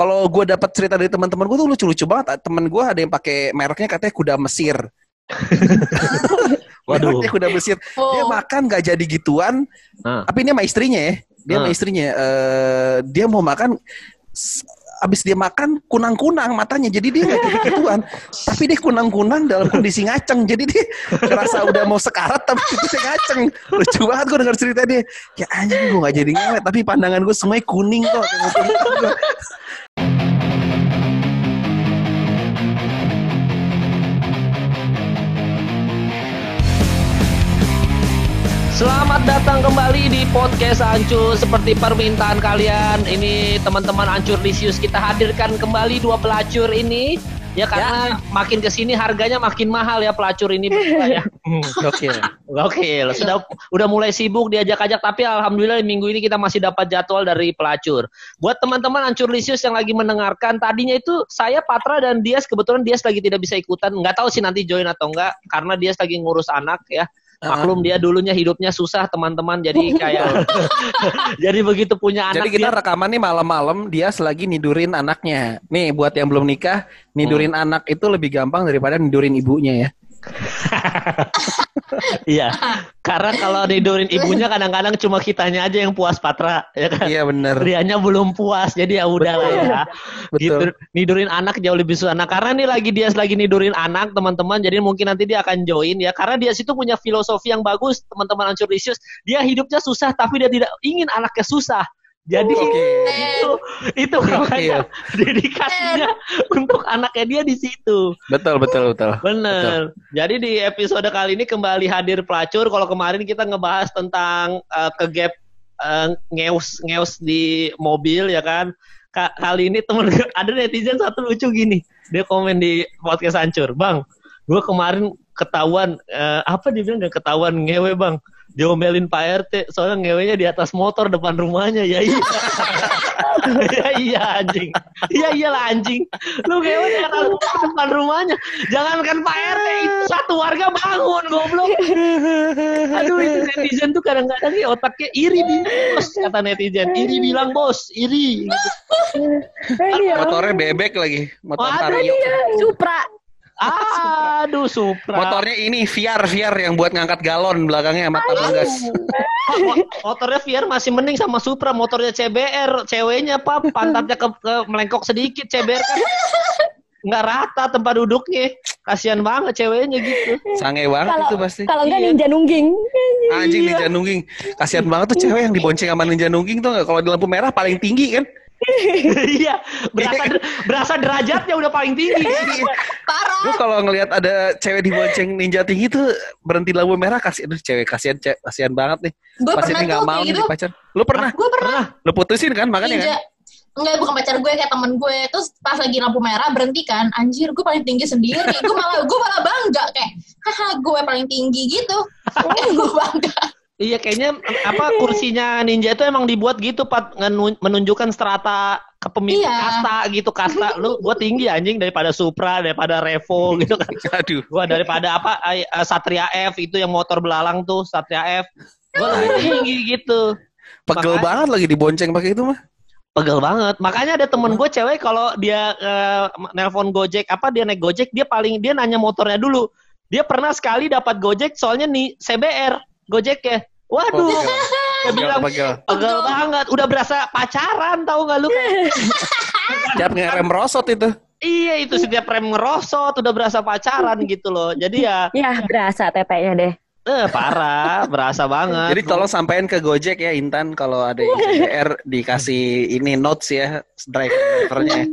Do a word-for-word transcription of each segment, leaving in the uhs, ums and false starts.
kalau gue dapat cerita dari teman-teman gue tuh lucu-lucu banget. Temen gue ada yang pakai mereknya katanya kuda Mesir. Waduh. Mereknya kuda Mesir. Oh. Dia makan nggak jadi gituan. Uh. Tapi ini sama istrinya ya. Dia uh. sama istrinya. Uh, dia mau makan. Abis dia makan kunang-kunang matanya, jadi dia nggak jadi gituan, tapi dia kunang-kunang dalam kondisi ngaceng, jadi dia ngerasa udah mau sekarat tapi dia ngaceng. Lucu banget gue dengar cerita dia, ya anjing gue nggak jadi ngewet, tapi pandangan gue semuanya kuning kok. Selamat datang kembali di podcast Ancur. Seperti permintaan kalian, ini teman-teman Ancur Lisius, kita hadirkan kembali dua pelacur ini. Ya karena ya. Makin kesini harganya makin mahal ya pelacur ini berdua ya. Gokil, gokil. Sudah udah mulai sibuk diajak-ajak, tapi alhamdulillah minggu ini kita masih dapat jadwal dari pelacur. Buat teman-teman Ancur Lisius yang lagi mendengarkan, tadinya itu saya Patra dan Dias, kebetulan Dias lagi tidak bisa ikutan. Nggak tahu sih nanti join atau enggak, karena Dias lagi ngurus anak ya. Maklum dia dulunya hidupnya susah teman-teman, jadi kayak jadi begitu punya anak. Jadi kita dia... rekaman nih malam-malam, dia selagi nidurin anaknya. Nih buat yang belum nikah, nidurin hmm. anak itu lebih gampang daripada nidurin ibunya ya. Iya, karena kalau nidurin ibunya kadang-kadang cuma kitanya aja yang puas Patra, ya kan? Iya benar. Dianya belum puas, jadi ya udah lah ya. Gitu. Nidurin anak jauh lebih susah. Nah, karena nih lagi dia lagi nidurin anak teman-teman, jadi mungkin nanti dia akan join ya. Karena dia situ punya filosofi yang bagus, teman-teman Ancur Lisius. Dia hidupnya susah, tapi dia tidak ingin anaknya susah. Jadi okay. itu itu makanya dedikasinya untuk anaknya dia di situ. Betul betul betul. Bener. Betul. Jadi di episode kali ini kembali hadir pelacur. Kalau kemarin kita ngebahas tentang uh, kegap uh, ngeus ngeus di mobil ya kan. Ka- kali ini temen ada netizen satu lucu gini. Dia komen di podcast Ancur, "Bang, gue kemarin ketahuan uh, apa dia bilang gak ketahuan ngewe bang." Diomelin Pak R T soalnya ngewenya di atas motor depan rumahnya. Ya iya. Ya iya anjing. Iya iyalah anjing. Lu ngewe di atas motor depan rumahnya. Jangankan Pak R T, itu satu warga bangun goblok. Aduh itu netizen tuh kadang-kadang nih otaknya iri bingung bos, kata netizen. Iri bilang bos, iri gitu. Motornya bebek lagi. Motor Vario. Supra. Aduh, Supra. Motornya ini V R, V R yang buat ngangkat galon belakangnya sama tabung gas. Motornya V R masih mending sama Supra. Motornya C B R, ceweknya apa pantatnya ke, ke melengkok sedikit. C B R kan nggak rata tempat duduknya. Kasian banget ceweknya gitu. Sange banget kalo, itu pasti. Kalau nggak ninja nungging. Anjing ninja nungging. Kasian banget tuh cewek yang dibonceng sama ninja nungging tuh nggak? Kalau di lampu merah paling tinggi kan? Iya, berasa berasa derajatnya udah paling tinggi. Parah. Lu kalau ngelihat ada cewek dibonceng ninja tinggi tuh berhenti lampu merah, kasih aduh cewek kasihan cewek, kasihan banget nih. Pasti nggak mau nih gitu. Pacar. Lu pernah? Gue pernah. Lu putusin kan makanya ninja. Kan? Enggak, bukan pacar gue, kayak temen gue. Terus pas lagi lampu merah berhenti kan, anjir gue paling tinggi sendiri. Gue malah gue malah bangga kayak, haha gue paling tinggi gitu. Gue bangga. Iya kayaknya apa kursinya ninja itu emang dibuat gitu Pat, menunjukkan strata kepemilikan iya. Kasta gitu, kasta lu gua tinggi anjing daripada Supra, daripada Revo gitu kan. Aduh. Gua daripada apa Satria F itu yang motor belalang tuh, Satria F. Gua lebih tinggi gitu. Pegel makanya, banget lagi dibonceng pakai itu mah. Pegel banget. Makanya ada temen gue cewek kalau dia uh, nelpon Gojek apa dia naik Gojek dia paling dia nanya motornya dulu. Dia pernah sekali dapat Gojek soalnya nih C B R Gojek ya. Waduh, oh, dia bilang pegel banget, udah berasa pacaran tahu nggak lu? Setiap ngerem merosot itu. Iya itu setiap rem ngerosot udah berasa pacaran gitu loh. Jadi ya. Ya berasa T P-nya deh. Eh parah, berasa banget. Jadi tolong sampein ke Gojek ya Intan kalau ada yang C B R dikasih ini notes ya drivernya.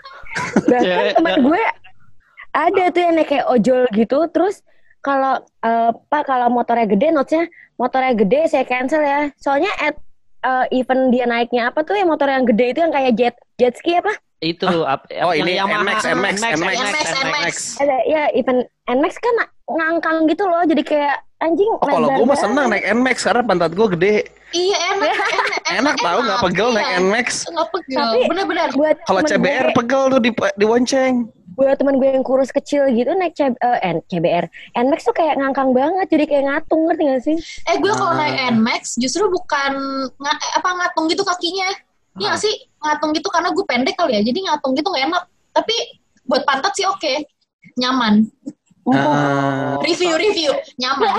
Bahkan teman gue ada tuh yang kayak ojol gitu terus. Kalau uh, Pak kalau motornya gede notesnya motornya gede saya cancel ya. Soalnya at uh, event dia naiknya apa tuh yang motor yang gede itu yang kayak jet jet ski apa? Itu oh, ap, oh ini yang N Max N Max N Max N Max. Ada ya event N Max kan ngangkang gitu loh jadi kayak anjing. Oh kalau gue mah senang naik N Max karena pantat gue gede. Iya enak. Enak tahu nggak pegel naik N Max. Nggak pegel. Benar-benar. Kalau C B R pegel tuh di dibonceng. Buat teman gue yang kurus kecil gitu naik C, uh, N, C B R N Max tuh kayak ngangkang banget jadi kayak ngatung ngerti gak sih? Eh gue kalau naik N Max justru bukan ng- apa ngatung gitu kakinya Iya sih ngatung gitu karena gue pendek kali ya, jadi ngatung gitu nggak enak. Tapi buat pantat sih oke, okay. Nyaman. Uh, review review nyaman.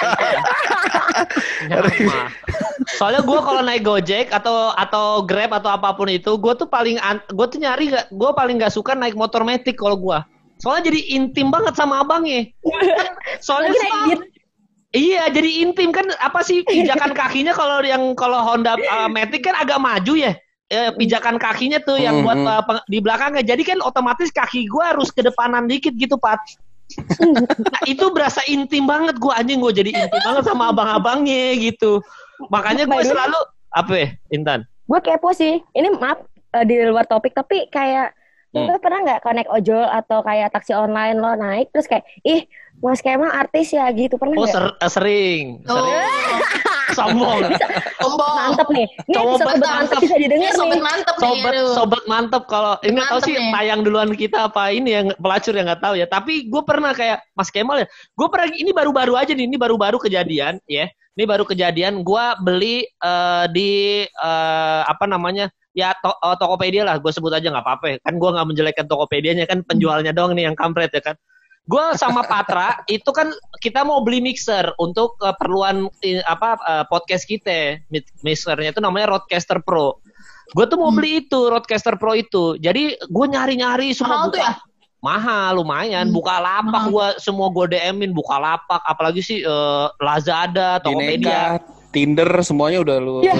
Nyaman. Soalnya gue kalau naik Gojek atau atau Grab atau apapun itu, gue tuh paling gue tuh nyari gak, gue paling nggak suka naik motor metik kalau gue. Soalnya jadi intim banget sama abangnya. Soalnya sih, iya jadi intim kan, apa sih pijakan kakinya kalau yang kalau Honda uh, Matic kan agak maju ya. E, pijakan kakinya tuh yang buat uh, di belakangnya. Jadi kan otomatis kaki gue harus ke depanan dikit gitu, Pat. Nah, itu berasa intim banget gue, anjing gue jadi intim banget sama abang-abangnya gitu. Makanya gue selalu apa ya, Intan? Gue kepo sih. Ini maaf uh, di luar topik, tapi kayak hmm. lo pernah nggak kalau naik ojol atau kayak taksi online lo naik terus kayak ih Mas Kemal artis ya gitu, pernah nggak? Oh ser- sering, oh. sering. Sombong. Sombong. Mantep nih. Ini sobat mantep bisa didengar nih. Sobat mantep nih. Sobat, sobat mantep kalau ini tahu sih nih. Tayang duluan kita apa ini yang pelacur yang nggak tahu ya. Tapi gue pernah kayak Mas Kemal ya. Gue pernah ini baru-baru aja nih. Ini baru-baru kejadian ya. Ini baru kejadian. Gue beli uh, di uh, apa namanya ya to- uh, Tokopedia lah. Gue sebut aja nggak apa-apa. Kan gue nggak menjelekkan Tokopedianya, kan penjualnya doang nih yang kampret ya kan. Gue sama Patra itu kan kita mau beli mixer untuk keperluan uh, apa uh, podcast kita. Mixernya itu namanya Rodecaster Pro. Gue tuh mau hmm. beli itu Rodecaster Pro itu. Jadi gue nyari-nyari semua. Mahal tuh ya? Mahal lumayan. Hmm. Buka lapak gue semua gue D M-in buka lapak. Apalagi sih uh, Lazada, Tokopedia, Tinder semuanya udah lu. Ya.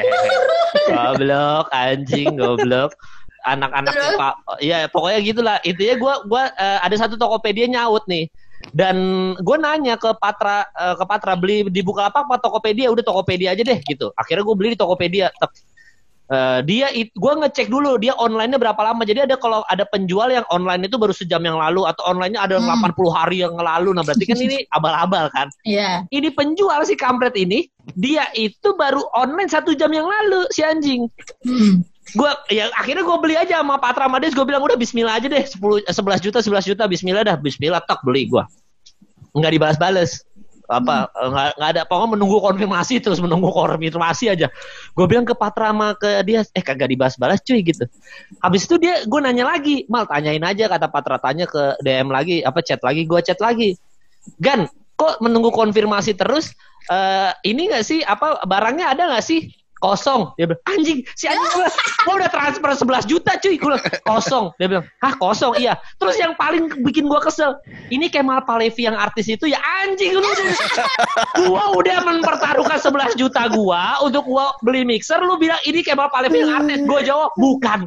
Goblok anjing, goblok. Anak-anak Pak, ya pokoknya gitulah. Intinya gue gue uh, ada satu Tokopedia nyaut nih, dan gue nanya ke Patra uh, ke Patra beli di Bukalapak apa Tokopedia, udah Tokopedia aja deh gitu. Akhirnya gue beli di Tokopedia. Uh, dia it, gue ngecek dulu dia online-nya berapa lama. Jadi ada kalau ada penjual yang online itu baru sejam yang lalu atau online-nya ada yang hmm. delapan puluh hari yang lalu. Nah berarti kan ini abal-abal kan. Iya. Yeah. Ini penjual si kampret ini dia itu baru online satu jam yang lalu si anjing. Hmm. Gue ya akhirnya gue beli aja sama Patra Mades. Gue bilang udah Bismillah aja deh, sepuluh sebelas juta sebelas juta Bismillah dah, Bismillah tok beli gue. Nggak dibalas-balas apa hmm. nggak nggak ada, pokoknya menunggu konfirmasi terus menunggu konfirmasi aja. Gue bilang ke Patra sama ke dia, eh kagak dibahas-balas cuy gitu. Habis itu dia gue nanya lagi, Mal tanyain aja, kata Patra, tanya ke D M lagi apa chat lagi, gue chat lagi, Gan kok menunggu konfirmasi terus, uh, ini nggak sih apa barangnya ada nggak sih? Kosong. Dia bilang, anjing, si anjing gue, gue udah transfer sebelas juta cuy. Gue bilang, kosong. Dia bilang, hah kosong? Iya. Terus yang paling bikin gue kesel, ini Kemal Palevi yang artis itu ya anjing. Lu gue udah mempertaruhkan sebelas juta gue untuk gue beli mixer. Lu bilang, ini Kemal Palevi yang artis. Gue jawab, bukan.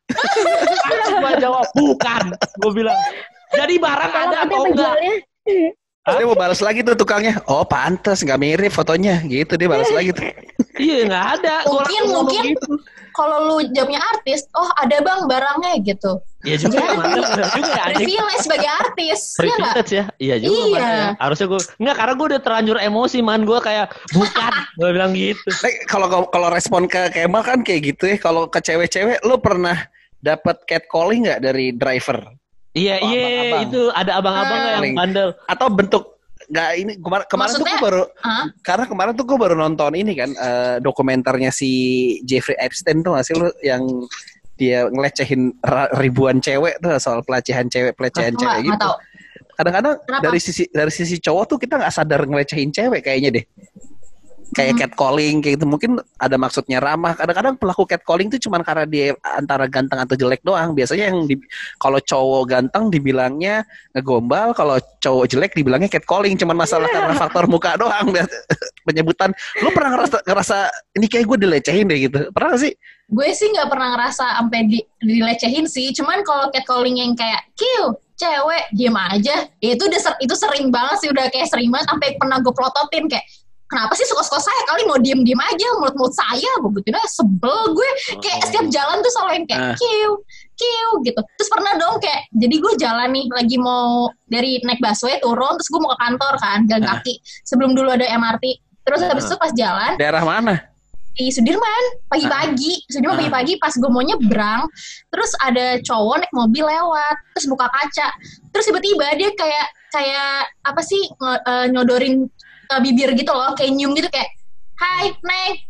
Gue jawab, bukan. Gue bilang, jadi barang ada atau enggak? Dia mau balas lagi tuh tukangnya. Oh pantas nggak mirip fotonya gitu, dia balas lagi tuh. Iya nggak ada. Mungkin mungkin gitu. Kalau lu jawabnya artis, oh ada bang barangnya gitu. Iya juga. Privilege sebagai artis. Privilege ya. Iya juga. Iya. Ya. Harusnya gue nggak, karena gue udah terlanjur emosi man, gue kayak bukan. Gue bilang gitu. Kalau kalau respon ke Kemal kan kayak gitu ya. Kalau ke cewek-cewek, lu pernah dapat catcalling nggak dari driver? Iya, oh, iya, itu ada abang-abang hmm. yang bandel. Atau bentuk nggak ini kemar- kemarin Maksudnya, tuh gue baru huh? karena kemarin tuh gue baru nonton ini kan uh, dokumenternya si Jeffrey Epstein tuh nggak sih lu, yang dia ngelecehin ribuan cewek tuh, soal pelecehan cewek pelecehan oh, cewek gitu. Tahu. Kadang-kadang Kenapa? dari sisi dari sisi cowok tuh kita nggak sadar ngelecehin cewek kayaknya deh. Kayak hmm. catcalling kayak gitu, mungkin ada maksudnya ramah. Kadang-kadang pelaku catcalling itu cuma karena dia antara ganteng atau jelek doang. Biasanya yang di, kalau cowok ganteng dibilangnya ngegombal, kalau cowok jelek dibilangnya catcalling. Cuman masalah yeah. karena faktor muka doang penyebutan. Lu pernah ngerasa, ngerasa ini kayak gue dilecehin deh gitu? Pernah gak sih? Gue sih nggak pernah ngerasa sampai di, dilecehin sih. Cuman kalau catcalling yang kayak kill cewek diem aja, ya itu udah ser, itu sering banget sih, udah kayak sering banget sampai pernah gue plototin kayak, kenapa sih suka-suka saya kali mau diem-diem aja mulut-mulut saya, begitu dah sebel gue kayak setiap jalan tuh selalu yang kayak kiu kiu gitu. Terus pernah dong kayak, jadi gue jalan nih lagi mau dari naik busway turun, terus gue mau ke kantor kan jalan kaki sebelum dulu ada M R T. Terus habis itu pas jalan daerah mana? Di Sudirman pagi-pagi, Sudirman pagi-pagi pas gue mau nyebrang, terus ada cowok naik mobil lewat, terus buka kaca, terus tiba-tiba dia kayak kayak apa sih ng- uh, nyodorin uh, bibir gitu loh, kayak nyium gitu kayak, hai Neng,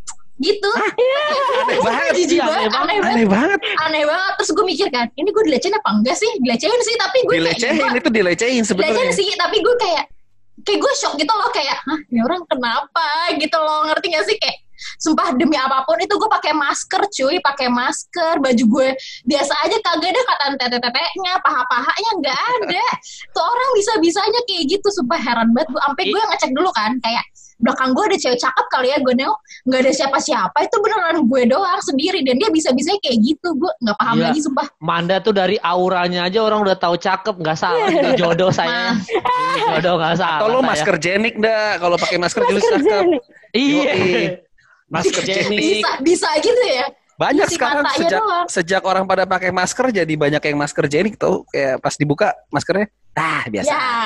gitu. Aneh banget. Jijik banget, aneh banget. Aneh banget. Aneh banget. Terus gue mikir kan, ini gue dilecehin apa enggak sih? Dilecehin sih, tapi gue dilecehin kayak, itu dilecehin sebetulnya. Dilecehin sih, tapi gue kayak kayak gue shock gitu loh, kayak hah, ini orang kenapa gitu loh, ngerti gak sih? Kayak sumpah demi apapun itu gue pakai masker cuy, pakai masker, baju gue biasa aja, kagak ada kata tete-tetenya, paha-pahanya nggak ada. Tuh orang bisa-bisanya kayak gitu, sumpah heran banget gue. Sampai gue ngecek dulu kan, kayak belakang gue ada cewek cakep kali ya, gue nengok nggak ada siapa-siapa, itu beneran gue doang sendiri, dan dia bisa-bisanya kayak gitu. Gue nggak paham iya. lagi sumpah. Manda tuh dari auranya aja orang udah tahu cakep, nggak salah ini jodoh saya. Ini jodoh nggak salah. Atau lo saya. masker jenik dah, kalau pakai masker jenis cakep. Iya. Masker jenik. Bisa, bisa gitu ya. Banyak Isi sekarang sejak doang. Sejak orang pada pakai masker jadi banyak yang masker jenik tuh, kayak pas dibuka maskernya ah biasa. Ya.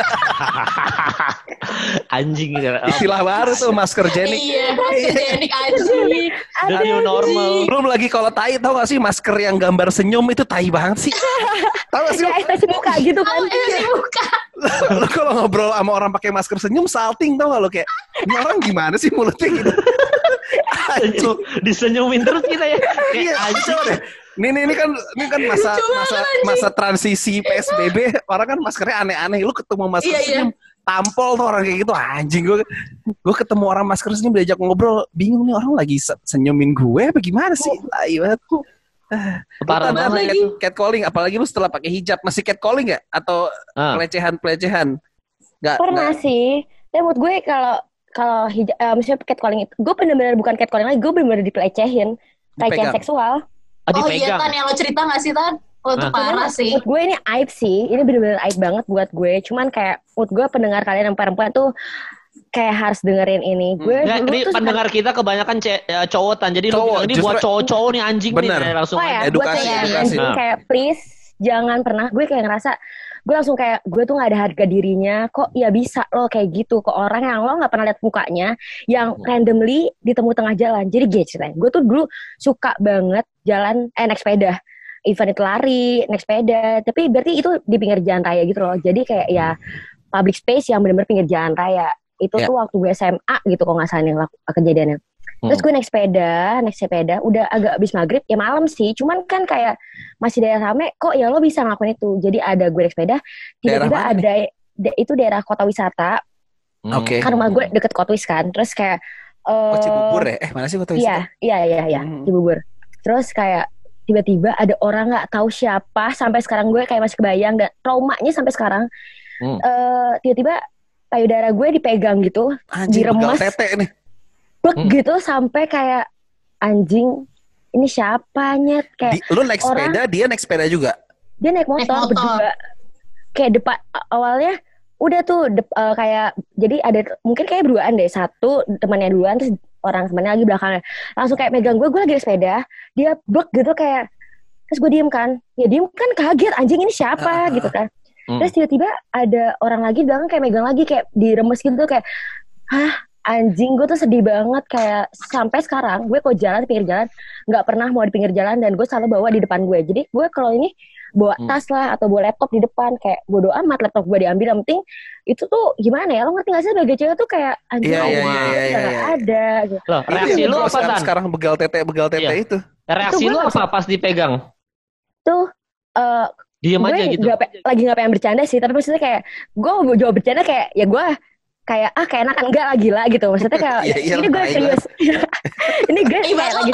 Anjing gitu. Istilah baru tuh masker jenik. Iya, masker jenik anjing. The new normal. Belum lagi kalau tai, tau gak sih masker yang gambar senyum itu tai banget sih. Tau gak sih? Ya ekspresi muka gitu kan. Oh, ekspresi muka. Lo kalau ngobrol sama orang pakai masker senyum salting, tau gak lo, kayak ini orang gimana sih mulutnya gitu. Senyum, disenyumin terus kita ya. Iya, anjing deh. Ini, ini, ini kan ini kan masa masa masa transisi P S B B, orang kan maskernya aneh-aneh. Lu ketemu masker iya, senyum, iya. Tampol tuh orang kayak gitu, anjing. Gue gue ketemu orang masker senyum diajak ngobrol, bingung nih orang lagi senyumin gue apa gimana sih? Tai banget. Parah banget lagi. Catcalling, apalagi lu setelah pakai hijab, masih catcalling nggak? Atau ah. pelecehan-pelecehan? Nggak. Pernah gak. Sih. Tapi menurut gue kalau kalau hijab, uh, misalnya catcalling itu, gue benar-benar bukan catcalling lagi, gue benar-benar dipelecehin, pelecehan seksual. Oh, oh iya Tan, yang lo cerita gak sih Tan? Oh itu nah. parah sih. Menurut gue ini aib sih, ini bener-bener aib banget buat gue. Cuman kayak menurut gue pendengar kalian yang perempuan tuh kayak harus dengerin ini. Gue hmm. Ini pendengar kita kebanyakan ce- ya, cowok Tan, jadi cowok, lo ini buat cowok-cowok nih anjing bener. Nih langsung oh, ya, edukasi, kayak, edukasi. Nah. Kayak please jangan pernah, gue kayak ngerasa gue langsung kayak gue tuh nggak ada harga dirinya, kok ya bisa lo kayak gitu ke orang yang lo nggak pernah lihat mukanya, yang randomly ditemu tengah jalan. Jadi gue ceritanya, gue tuh dulu suka banget jalan eh naik sepeda, event itu lari, naik sepeda, tapi berarti itu di pinggir jalan raya gitu loh. Jadi kayak ya public space yang benar-benar pinggir jalan raya. Itu yeah. tuh waktu gue S M A gitu kok nggak salah nih kejadiannya. Terus gue naik sepeda, naik sepeda, udah agak abis maghrib, ya malam sih. Cuman kan kayak masih daerah rame, kok ya lo bisa ngelakuin itu. Jadi ada gue naik sepeda, tiba-tiba ada, da- itu daerah kota wisata. Oke. Okay. Kan rumah gue deket Kotwis kan. Terus kayak... Uh, oh Cibubur ya? Eh mana sih kota wisata? Iya, iya, iya, iya, hmm. Cibubur. Terus kayak tiba-tiba ada orang gak tahu siapa, sampai sekarang gue kayak masih kebayang, dan traumanya sampai sekarang. Hmm. Uh, tiba-tiba payudara gue dipegang gitu, anjing, diremas. Anjing, tete nih. Bek hmm. gitu sampai kayak anjing ini siapanya kayak Di, lu naik orang, sepeda dia naik sepeda juga dia naik motor, naik motor. Berdua kayak depan awalnya udah tuh de, uh, kayak jadi ada mungkin kayak berduaan deh, satu temannya duluan terus orang temannya lagi belakangnya langsung kayak megang gue gue lagi naik sepeda dia bek gitu kayak terus gue diem kan ya diem kan kaget anjing ini siapa uh, gitu kan uh, terus tiba-tiba ada orang lagi belakang kayak megang lagi kayak diremes gitu kayak hah anjing, gue tuh sedih banget kayak sampai sekarang gue kalau jalan di pinggir jalan nggak pernah mau di pinggir jalan dan gue selalu bawa di depan gue. Jadi gue kalau ini bawa tas lah atau bawa laptop di depan kayak bodo amat laptop gue diambil, yang penting itu tuh gimana ya, lo ngerti nggak sih sebagai cewek tuh kayak anjing yeah, yeah, yeah, yeah, nggak yeah. ada. Gitu. Loh, reaksi lu apa Tan? Sekarang begal tete begal tete yeah. itu. Reaksi lu apa pas dipegang? Tuh. Uh, Diam aja gitu. Gak, lagi nggak pengen bercanda sih, tapi maksudnya kayak gue mau jawab bercanda kayak ya gue kayak ah kayak enakan enggak lagi lah gitu, maksudnya kayak iya, iya, ini gue serius ini gue kayak lagi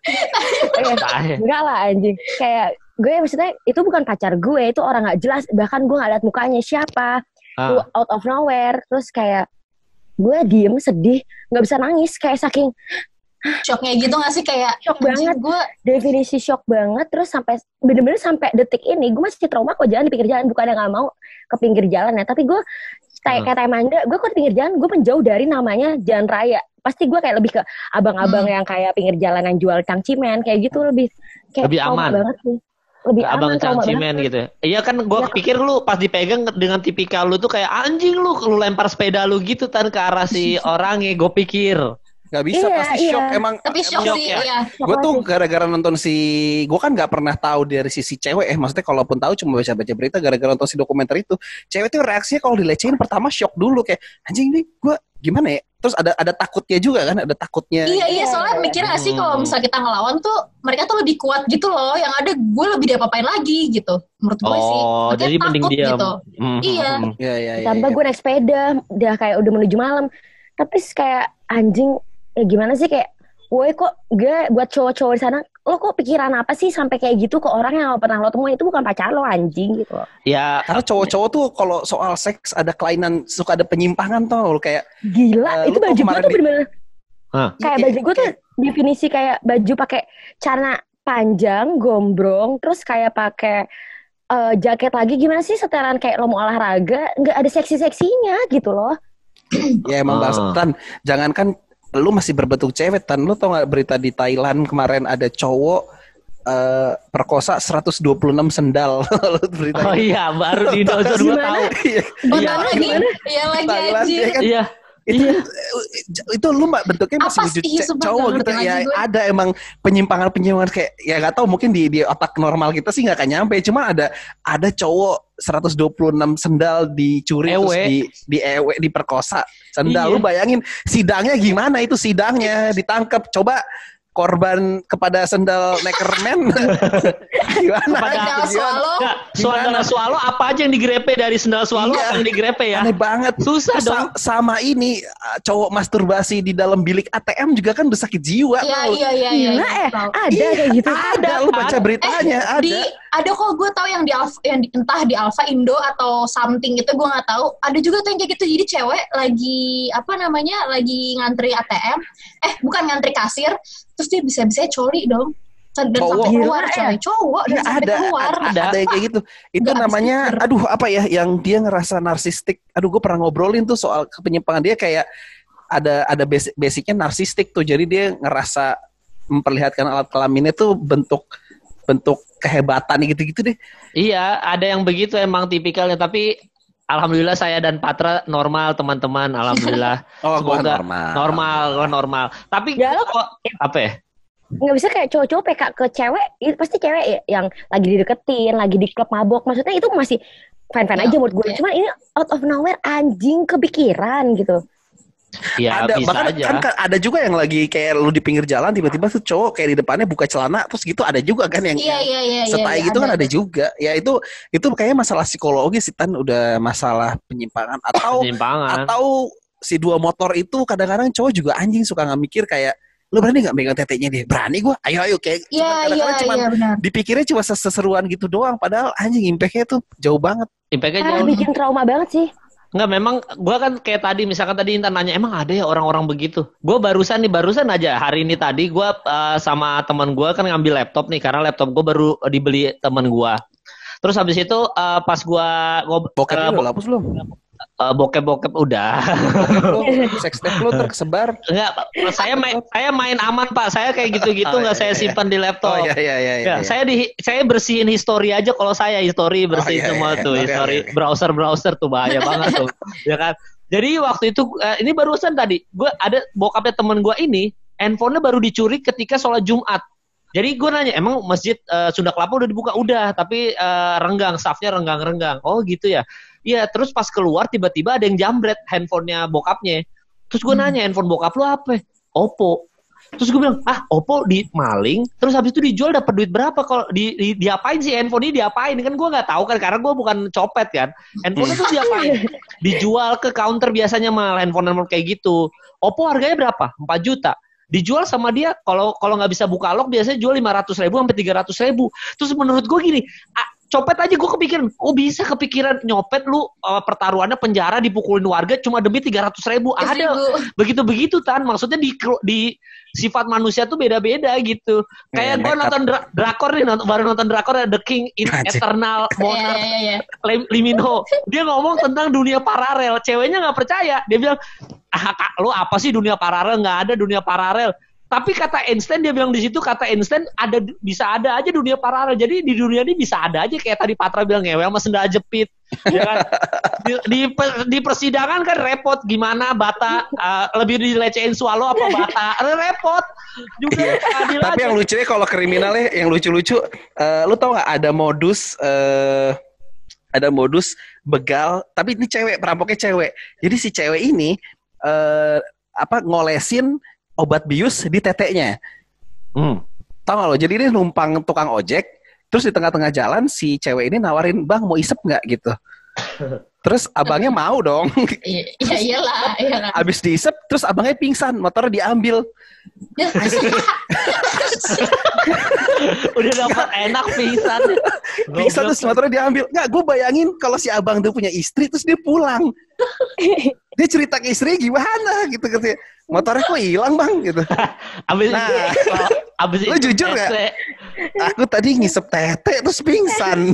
enggak lah anjing kayak gue maksudnya itu bukan pacar gue, itu orang nggak jelas, bahkan gue nggak lihat mukanya siapa, ah. out of nowhere. Terus kayak gue diem sedih nggak bisa nangis kayak saking shocknya gitu nggak sih, kayak shock banget gue, definisi shock banget. Terus sampai bener-bener sampai detik ini gue masih trauma kok jalan di pinggir jalan, bukan yang nggak mau ke pinggir jalan ya, tapi gue kayak kata Amanda, gue ke pinggir jalan, gue menjauh dari namanya jalan raya. Pasti gue kayak lebih ke abang-abang hmm. yang kayak pinggir jalan yang jual cangcimen kayak gitu, lebih kayak lebih aman banget sih. Lebih ke abang aman, cangcimen gitu. Iya kan gue ya. Pikir lu pas dipegang dengan tipikal lu tuh kayak anjing lu, lu lempar sepeda lu gitu Tan ke arah si orangnya, gue pikir. Gak bisa iya, pasti iya. shock emang. Tapi shock emang, sih, ya. iya. Gue tuh gara-gara nonton si, gue kan nggak pernah tahu dari sisi cewek eh, maksudnya kalaupun tahu cuma baca-baca berita gara-gara nonton si dokumenter itu. Cewek tuh reaksinya kalau dilecehin pertama shock dulu kayak anjing nih gue gimana ya? Terus ada ada takutnya juga kan, ada takutnya. Iya iya soalnya mikir gak sih kalau misal kita ngelawan tuh mereka tuh lebih kuat gitu loh, yang ada gue lebih diapa-apain lagi gitu. Menurut gue sih. Oh, Makanya jadi mending takut diam. gitu. Hmm, Iya. hmm, hmm. Iya iya iya. Tambah iya. gue naik sepeda, udah kayak udah menuju malam. Tapi kayak anjing, ya gimana sih kayak, woi kok gue buat cowok-cowok di sana, lo kok pikiran apa sih sampai kayak gitu ke orang yang pernah lo temuin itu bukan pacar lo anjing gitu. Ya, Karena cowok-cowok tuh kalau soal seks ada kelainan, suka ada penyimpangan tuh lo kayak. Gila, Uh, itu lu tau baju gue kemarin tuh di- bener-bener Hah? kayak Iya, baju gue tuh definisi kayak baju pakai celana panjang, gombrong, terus kayak pakai eh, jaket lagi gimana sih setelan kayak lo mau olahraga, nggak ada seksi-seksinya gitu loh. Ya emang Ah. bahasa Tan, jangankan lu masih berbentuk cewek Tan, lu tau gak berita di Thailand kemarin ada cowok eh, perkosa seratus dua puluh enam sendal. Lu berita Oh itu. iya, baru di Dozor gue Gimana? tahu. Iya. Oh Iya. iya, lagi, iya lagi Thailand, anjir. dia kan Iya. itu Iya. itu lu mbak bentuknya masih Apa wujud sih? ce- Sumpah cowok nggak gitu ngerti ya lagi gue. ada emang penyimpangan penyimpangan kayak ya nggak tahu mungkin di di otak normal kita sih nggak akan nyampe cuma ada ada cowok seratus dua puluh enam sendal dicuri terus Ewe. di di ewe diperkosa sendal Iya. lu bayangin sidangnya gimana itu sidangnya ditangkap coba korban kepada sendal Neckerman gimana Kepada Sendal Gimana? swallow. Enggak, sendal swallow apa aja yang digrepe dari sendal swallow Iya. apa yang digrepe ya? Aneh banget. Susah Terus dong. sa- sama ini uh, cowok masturbasi di dalam bilik A T M juga kan udah sakit jiwa. Iya tau. iya iya iya. Gila iya, eh, tahu. ada kayak gitu. Ada, lu baca beritanya ada. Di ada kok gue tahu yang di Alfa, yang di, entah di Alfa Indo atau something itu gue nggak tahu. Ada juga tuh yang kayak gitu. Jadi cewek lagi apa namanya lagi ngantri A T M, eh bukan ngantri kasir, terus dia bisa-bisa coli dong. Dan Cowok. sampai keluar Gila, coy, cowok dan Iya, sampai ada, keluar. ada, Ada. ada yang kayak gitu. Itu Nggak habis namanya, pikir. aduh apa ya, yang dia ngerasa narsistik. Aduh, gue pernah ngobrolin tuh soal penyimpangan dia kayak ada ada basic, basicnya narsistik tuh. Jadi dia ngerasa memperlihatkan alat kelaminnya tuh bentuk bentuk kehebatan gitu-gitu deh. Iya, ada yang begitu emang tipikalnya. Tapi alhamdulillah saya dan Patra normal teman-teman. Alhamdulillah. Oh, gua Semoga normal. Normal, gua normal. Tapi Ya, lo- kok apa ya? Nggak bisa kayak cowok-cowok P K ke cewek, itu pasti cewek ya, yang lagi dideketin, lagi di klub mabok, maksudnya itu masih fine-fine Ya, aja menurut gue. ya. Cuman ini out of nowhere anjing kepikiran gitu. Ya ada bisa bahkan aja. kan, kan ada juga yang lagi kayak lu di pinggir jalan tiba-tiba tuh cowok kayak di depannya buka celana terus gitu ada juga kan yang Iya iya iya. setai iya, gitu kan ada juga ya itu itu kayaknya masalah psikologis sih Tan udah masalah penyimpangan atau Penyimpangan. atau si dua motor itu kadang-kadang cowok juga anjing suka nggak mikir kayak lu berani nggak megang tetenya dia berani gua ayo ayo kayak Iya cuman iya kadang-kadang cuman iya benar. dipikirnya cuma seseruan gitu doang padahal anjing impactnya tuh jauh banget. Impactnya Ah, jauh. bikin trauma banget sih. Enggak, memang gue kan kayak tadi, misalkan tadi Intan nanya, emang ada ya orang-orang begitu? Gue barusan nih, barusan aja hari ini tadi gue uh, sama teman gue kan ngambil laptop nih, karena laptop gue baru dibeli teman gue. Terus habis itu uh, pas gue Bokepnya uh, udah hapus belum? uh, bokep-bokep udah. Sex tape lu tersebar. Enggak, saya main saya main aman Pak. Saya kayak gitu-gitu Oh, nggak iya, saya iya. simpan di laptop. Oh iya iya iya. Ya, iya. saya di saya bersihin history aja kalau saya history bersihin Oh, iya, semua iya. tuh Oke, history oke, oke. browser-browser tuh bahaya banget tuh. Ya kan? Jadi waktu itu eh, ini barusan tadi gue ada bokapnya temen gue ini handphonenya baru dicuri ketika sholat Jumat. Jadi gue nanya, emang masjid eh, Sunda Kelapa udah dibuka? Udah, tapi eh, renggang, staffnya renggang-renggang. Oh gitu ya. Iya, terus pas keluar tiba-tiba ada yang jambret handphonenya bokapnya. Terus gue nanya, handphone bokap lu apa? Oppo. Terus gue bilang, ah Oppo di maling, terus habis itu dijual dapat duit berapa? Kalau di, di diapain sih handphone ini diapain? Kan gue nggak tahu kan, karena gue bukan copet kan. Handphone itu diapain? Dijual ke counter biasanya malah handphone-handphone kayak gitu. Oppo harganya berapa? empat juta. Dijual sama dia, kalau kalau nggak bisa buka lock biasanya jual lima ratus ribu sampai tiga ratus ribu. Terus menurut gue gini, ah, copet aja gue kepikiran, oh bisa kepikiran nyopet lu uh, pertaruhannya penjara dipukulin warga cuma demi tiga ratus ribu. Ada begitu-begitu Tan, maksudnya di di sifat manusia tuh beda-beda gitu. Kayak Ya, gue nekat. nonton dra- drakor nih, nonton, baru nonton drakor The King in Anjir. Eternal Iya Monarch iya iya. Lee Lee Min Ho. Dia ngomong tentang dunia paralel. Ceweknya nggak percaya. Dia bilang, ah kak, lo apa sih dunia paralel? Nggak ada dunia paralel. Tapi kata Einstein, dia bilang di situ, kata Einstein ada bisa ada aja dunia paralel. Jadi di dunia ini bisa ada aja kayak tadi Patra bilang ngewe sama sendal jepit. Ya kan? Di, di, di persidangan kan repot gimana Bata uh, lebih dilecehin Swallow apa Bata? Repot juga. Adil Tapi aja. Yang lucunya kalau kriminalnya yang lucu-lucu, uh, lu tau nggak ada modus uh, ada modus begal, tapi ini cewek, perampoknya cewek. Jadi si cewek ini uh, apa ngolesin obat bius di teteknya. Hmm. Tahu nggak lo? Jadi dia numpang tukang ojek, terus di tengah-tengah jalan si cewek ini nawarin, bang mau isep nggak gitu. Terus abangnya mau dong. Iya iyalah, iyalah. Abis diisep, terus abangnya pingsan, motornya diambil. Udah dapat enak pingsan. Pingsan terus motornya diambil. Nggak, gue bayangin kalau si abang tuh punya istri, terus dia pulang. Dia cerita ke istri gimana gitu katanya. Motornya kok hilang bang gitu. Abis nah, itu, abis lu itu jujur nggak? Aku tadi ngisep tete terus pingsan.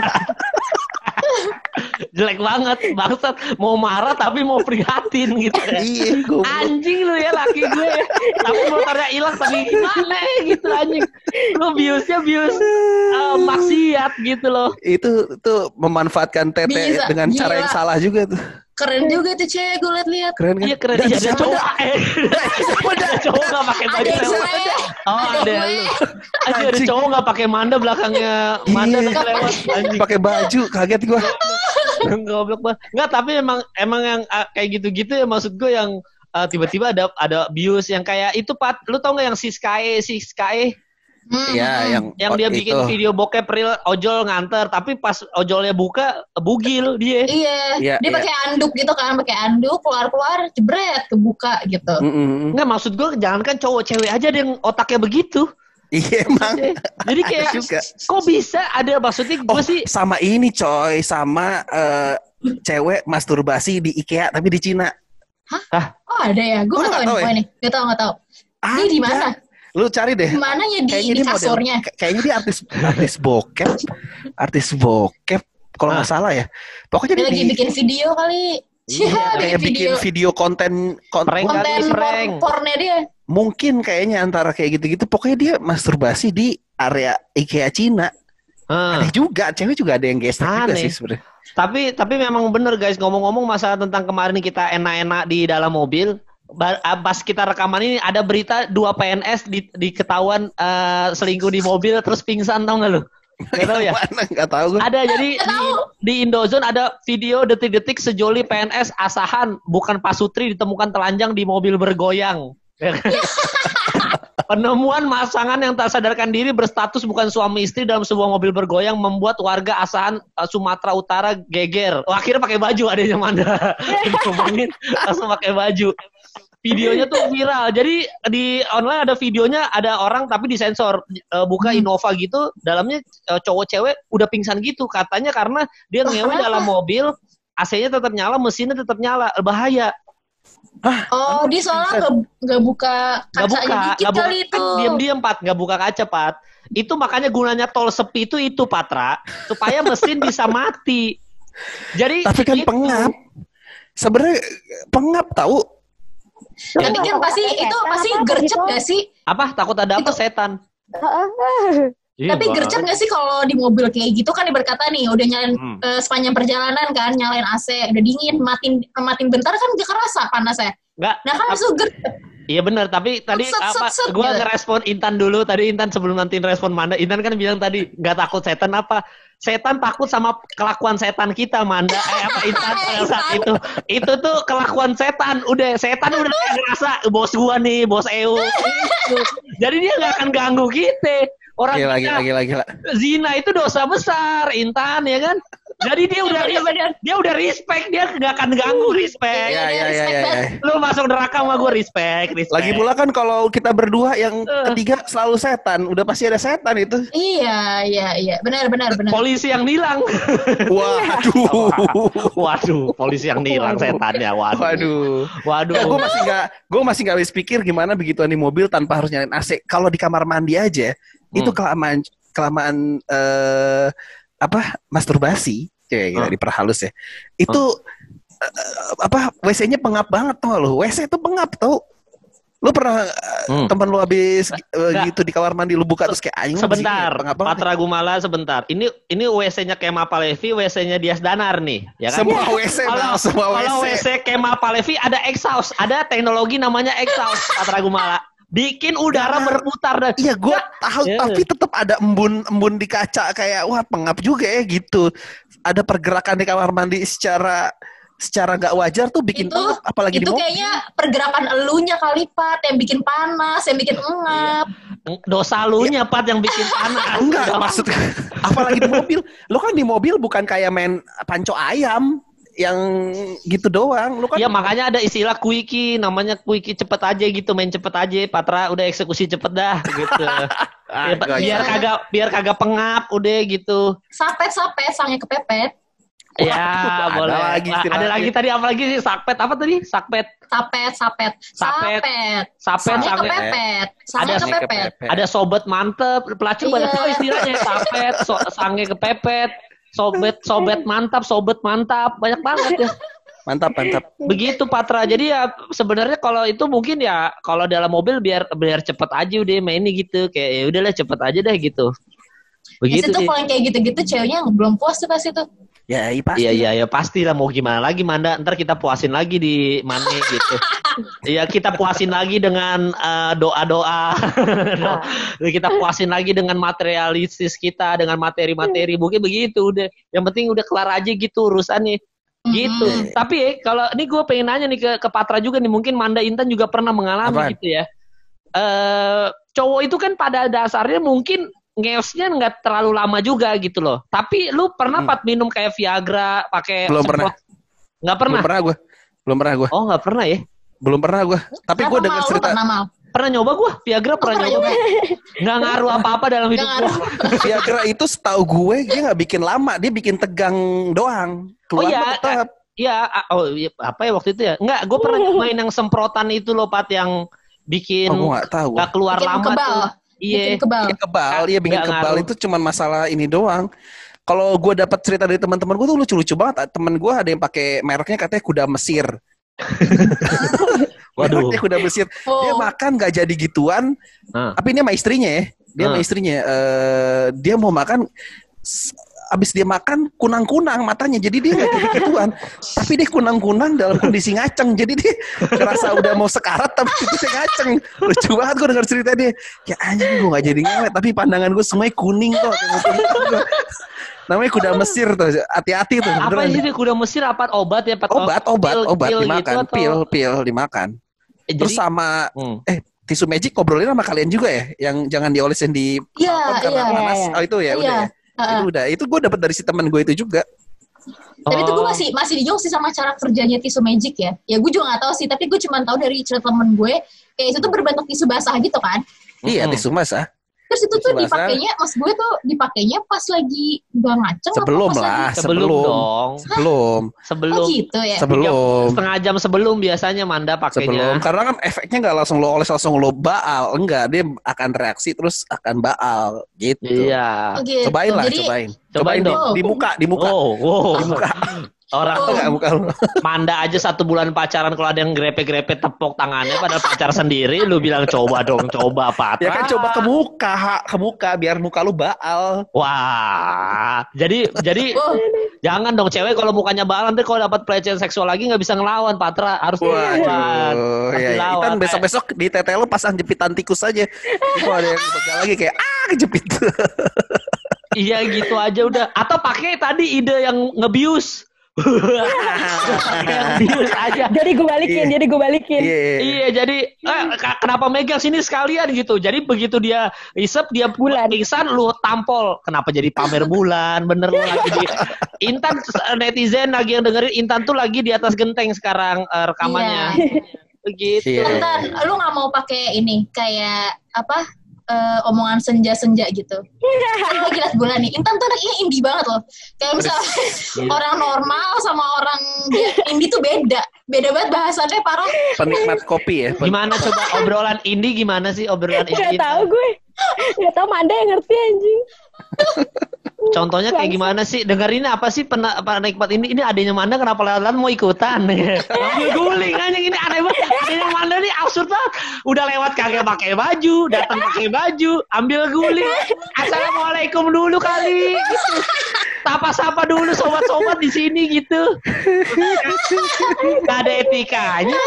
Jelek banget, bangsat. Mau marah tapi mau prihatin gitu ya. Iya, anjing lu ya laki gue. Tapi motornya hilang tapi gimana gitu anjing. Lu biusnya bius uh, maksiat gitu loh. Itu tuh memanfaatkan tete Bisa, dengan gila. Cara yang salah juga tuh. Keren juga tuh cewek, gue liat-liat. Keren kan? Iya keren. Iya ada cowok. Ada cowok gak pakai baju lewat. Oh ada lu. Ada cowok gak pakai manda belakangnya manda iya. lewat. Pakai baju, kaget gue. Goblok banget. Enggak, tapi emang emang yang uh, kayak gitu-gitu ya maksud gue yang uh, tiba-tiba ada ada bius yang kayak itu Pat. Lu tau nggak yang si Sky si Sky? Iya, hmm, yang yang dia bikin itu. Video bokep real ojol nganter, tapi pas ojolnya buka bugil dia. Iya, ya, dia ya. Pakai anduk gitu kan, pakai anduk keluar-keluar jebret kebuka gitu. Mm-hmm. Nggak, maksud gue jangan kan cowok cewek aja yang otaknya begitu. Iya emang. Jadi kayak juga. Kok bisa ada maksudnya gue oh, sih sama ini coy, sama uh, cewek masturbasi di IKEA tapi di Cina. Hah? Oh ada ya, gue nggak tahu nih, nggak tahu nggak tahu. Ini di mana? Lu cari deh. Mana ya di, kayaknya di kasurnya? Model, kayaknya dia artis artis bokep, artis bokep kalau nggak ah. salah ya. Pokoknya dia lagi di, bikin video kali. Iya, kayak bikin video, video konten konten, konten prank. pornya dia. Mungkin kayaknya antara kayak gitu-gitu. Pokoknya dia masturbasi di area IKEA Cina. Hmm. Ada juga, cewek juga ada yang gesek juga sih sebenarnya. Tapi tapi memang bener guys, ngomong-ngomong masalah tentang kemarin kita enak-enak di dalam mobil. Pas kita rekaman ini ada berita dua P N S di, di-ketahuan uh, selingkuh di mobil terus pingsan, tau gak lu? Gak tahu ya? Mana? Gak tahu. Ada, jadi di, di Indozone ada video detik-detik sejoli P N S Asahan bukan Pasutri ditemukan telanjang di mobil bergoyang. Penemuan pasangan yang tak sadarkan diri berstatus bukan suami istri dalam sebuah mobil bergoyang membuat warga Asahan uh, Sumatera Utara geger. Oh, akhirnya pakai baju adanya Manda. Ngomongin langsung pakai baju. Videonya tuh viral. Jadi di online ada videonya, ada orang tapi disensor, uh, buka Innova gitu, dalamnya uh, cowok cewek udah pingsan gitu. Katanya karena dia ngewe dalam mobil, A C-nya tetap nyala, mesinnya tetap nyala, bahaya. Hah? Oh, dia soalnya nggak buka kacanya dikit kali itu. Diam-diam Pat, nggak buka kaca Pat. Itu makanya gunanya tol sepi itu itu Patra, supaya mesin bisa mati. Jadi tapi kan itu pengap. Sebenarnya pengap tahu. Tapi kan pasti itu pasti gercep gak sih? Apa? Takut ada apa? Itu. Setan. Tapi gercep gak sih kalau di mobil kayak gitu kan berkata nih udah nyalain hmm. uh, sepanjang perjalanan kan nyalain A C udah dingin matiin matiin bentar kan gak kerasa panasnya. Enggak. Nah kan langsung gercep. Iya benar, tapi tadi set, apa? Set, gua gitu. Ngerespon Intan dulu. Tadi Intan sebelum nanti respon Manda, Intan kan bilang tadi nggak takut setan apa? Setan takut sama kelakuan setan kita, Manda. Eh apa Intan pada saat itu? Itu tuh kelakuan setan. Udah setan udah ngerasa bos gua nih, bos E U. Jadi dia nggak akan ganggu kita. Orang gila, kita, gila, gila, gila. Zina itu dosa besar, Intan ya kan? Jadi dia udah dia, dia udah respect, dia nggak akan ganggu respect. Iya iya iya. Ya, ya. Lu masuk neraka sama gue respect, respect. Lagi pula kan kalau kita berdua yang uh. ketiga selalu setan, udah pasti ada setan itu. Iya iya iya, benar benar benar. Polisi yang nilang. Waduh. Waduh, polisi yang nilang setannya. Waduh. Waduh. Waduh. Ya, gue masih nggak, gue masih nggak habis pikir gimana begituan di mobil tanpa harus nyalain A C. Kalau di kamar mandi aja, hmm. itu kelamaan kelamaan. Uh, apa masturbasi kayak gitu, huh? Diperhalus ya itu huh? uh, apa W C-nya pengap banget tuh lo W C itu pengap tau Lu pernah hmm. temen lu habis uh, gitu di kamar mandi lu buka terus kayak aing sebentar, Patra Gumala sebentar. Ini ini W C-nya Kemal Palevi, W C-nya Dias Danar nih, ya kan? Semua W C, kalau, semua W C. Kalau W C Kemal Palevi ada exhaust, ada teknologi namanya exhaust, Patra Gumala. Bikin udara ya, berputar dan iya gue tahu yeah. Tapi tetap ada embun-embun di kaca kayak wah pengap juga ya gitu. Ada pergerakan di kamar mandi secara secara nggak wajar tuh bikin itu, pengap, apalagi itu di mobil. Itu kayaknya pergerakan elunya kali Pat yang bikin panas, yang bikin engap. Dosa elunya Pat yang bikin panas. Enggak, maksudnya apalagi di mobil. Lo kan di mobil bukan kayak main panco ayam yang gitu doang. Lu kan ya makanya ada istilah quickie, namanya quickie cepet aja gitu, main cepet aja. Patra udah eksekusi cepet dah gitu. ah, biar, biar kagak biar kagak pengap udah gitu. Sapet-sapet sange kepepet. Ya, Wah, boleh. Ada lagi, ada lagi tadi apa lagi sih? Sakpet apa tadi? Sakpet. Sapet, sapet. Sapet. Sapet, sange sange kepepet. Sange ada kepepet. Ada sobat mantep, pelacur banyak sekali istilahnya. Sapet, so, sange kepepet, sobat sobat mantap, sobat mantap, banyak banget ya. Mantap, mantap. Begitu Patra. Jadi ya sebenarnya kalau itu mungkin ya kalau dalam mobil biar biar cepet aja udah mainnya gitu. Kayak ya udahlah cepet aja deh gitu. Begitu. Itu kalau kayak gitu-gitu ceweknya belum puas tuh pas itu. Ya, iya pasti. Iya, iya, ya pasti lah mau gimana lagi Manda. Ntar kita puasin lagi di mana gitu. Iya, kita puasin lagi dengan uh, doa-doa. Nah. Kita puasin lagi dengan materialistis kita, dengan materi-materi. Mungkin begitu udah. Yang penting udah kelar aja gitu urusannya. Gitu. Mm-hmm. Tapi eh, kalau ini gue pengen nanya nih ke, ke Patra juga nih. Mungkin Manda Intan juga pernah mengalami Apaan? Gitu ya. Uh, cowok itu kan pada dasarnya mungkin ngeosnya nggak terlalu lama juga gitu loh. Tapi lu pernah hmm. Pat minum kayak Viagra pakai belum pernah. Nggak pernah. Belum pernah gue. Belum pernah gue. Oh nggak pernah ya? Belum pernah gue. Tapi gue dengar cerita. Pernah, pernah nyoba gue Viagra pernah, pernah nyoba. Nggak ngaruh apa-apa dalam hidup gue. Viagra itu setahu gue dia nggak bikin lama, dia bikin tegang doang. Keluar oh iya. Tetap. Iya. Oh iya, apa ya waktu itu ya? Nggak. Gue pernah main yang semprotan itu loh Pat yang bikin oh, nggak tahu. Nggak keluar bikin lama kebal. tuh. Iya, bikin kebal, bikin kebal, iya bikin kebal ngaruh. Itu cuma masalah ini doang. Kalau gue dapat cerita dari teman-teman gue tuh lucu-lucu banget. Temen gue ada yang pakai mereknya katanya kuda Mesir. Waduh, mereknya kuda Mesir. Oh. Dia makan nggak jadi gituan. Uh. Tapi ini sama istrinya ya. Dia uh. sama istrinya. Uh, dia mau makan. Abis dia makan kunang-kunang matanya, jadi dia nggak jadi gituan, tapi dia kunang-kunang dalam kondisi ngaceng, jadi dia ngerasa udah mau sekarat tapi dia ngaceng. Lucu banget gue dengar cerita dia, ya anjing gue nggak jadi ngewet, tapi pandangan gue semuanya kuning kok. Namanya kuda Mesir tuh, hati-hati tuh. Apa sih kuda Mesir? Apa obat ya? Pat? Obat, obat, pil, obat pil dimakan, gitu, pil, pil dimakan. Eh, Terus jadi, sama, hmm. eh tisu magic ngobrolin sama kalian juga ya, yang jangan diolesin di yeah, karena yeah, panas. Yeah. Oh itu ya, yeah. udah ya. Uh, itu udah, itu gue dapet dari si teman gue itu juga. Tapi itu gue masih masih bingung sih sama cara kerjanya tisu magic ya. Ya gue juga nggak tahu sih, tapi gue cuma tahu dari cerita temen gue, kayak itu tuh berbentuk tisu basah gitu kan? Iya, hmm. tisu basah. Terus itu tuh dipakainya, mas gue tuh dipakainya pas lagi udah ngaceng. Sebelum lah, lagi? sebelum dong. Sebelum. Sebelum. Oh gitu ya? Sebelum. Setengah jam sebelum biasanya Manda pakainya. Sebelum, karena kan efeknya nggak langsung lo oles langsung lo baal, enggak, dia akan reaksi terus akan baal, gitu. Iya. Oh, gitu. Cobain lah, Jadi, cobain. Cobain, cobain dong. Di, di muka, di muka. Oh, wow. Di muka. Orang tuh nggak muka lu. Manda aja satu bulan pacaran kalau ada yang grepe-grepe tepuk tangannya padahal pacar sendiri, lu bilang coba dong, coba Patra. Ya kan coba ke muka, ke muka biar muka lu baal. Wah, jadi jadi oh. jangan dong cewek kalau mukanya baal nanti kalau dapat pelecehan seksual lagi nggak bisa ngelawan Patra, harus dilawan. Ya, ya. Itan besok-besok di tete lu pasang jepitan tikus aja. Kalau ada yang pegang lagi kayak ah kejepit. Iya gitu aja udah. Atau pakai tadi ide yang ngebius. Bius aja. Jadi gue balikin, yeah. jadi gue balikin. Yeah. Iya, jadi eh, kenapa megang sini sekalian gitu. Jadi begitu dia isep dia bulan pingsan lu tampol. Kenapa jadi pamer bulan? Bener lu lagi di Intan netizen lagi yang dengerin Intan tuh lagi di atas genteng sekarang uh, rekamannya. Yeah. Begitu. Yeah. Intan, lu nggak mau pakai ini kayak apa? Uh, omongan senja-senja gitu. Kan lagi liat bulan nih. Intan tuh anaknya indie banget loh. Kayak misalnya yeah. orang normal sama orang indie tuh beda. Beda banget bahasannya parah. Penikmat kopi ya. Gimana coba obrolan indie gimana sih obrolan indie? Gak tau gue. Gak tau Manda yang ngerti anjing. contohnya kayak gimana sih? Dengerin apa sih pernah penikmat ini? Ini adanya Manda kenapa lewat mau ikutan? Ambil guling aja ini aneh banget. Adanya Manda nih absurd banget. Udah lewat kagak pakai baju, datang pakai baju, ambil guling. Assalamualaikum dulu kali. Gitu. Sapa-sapa dulu sobat-sobat di sini gitu. Gak ada etikanya.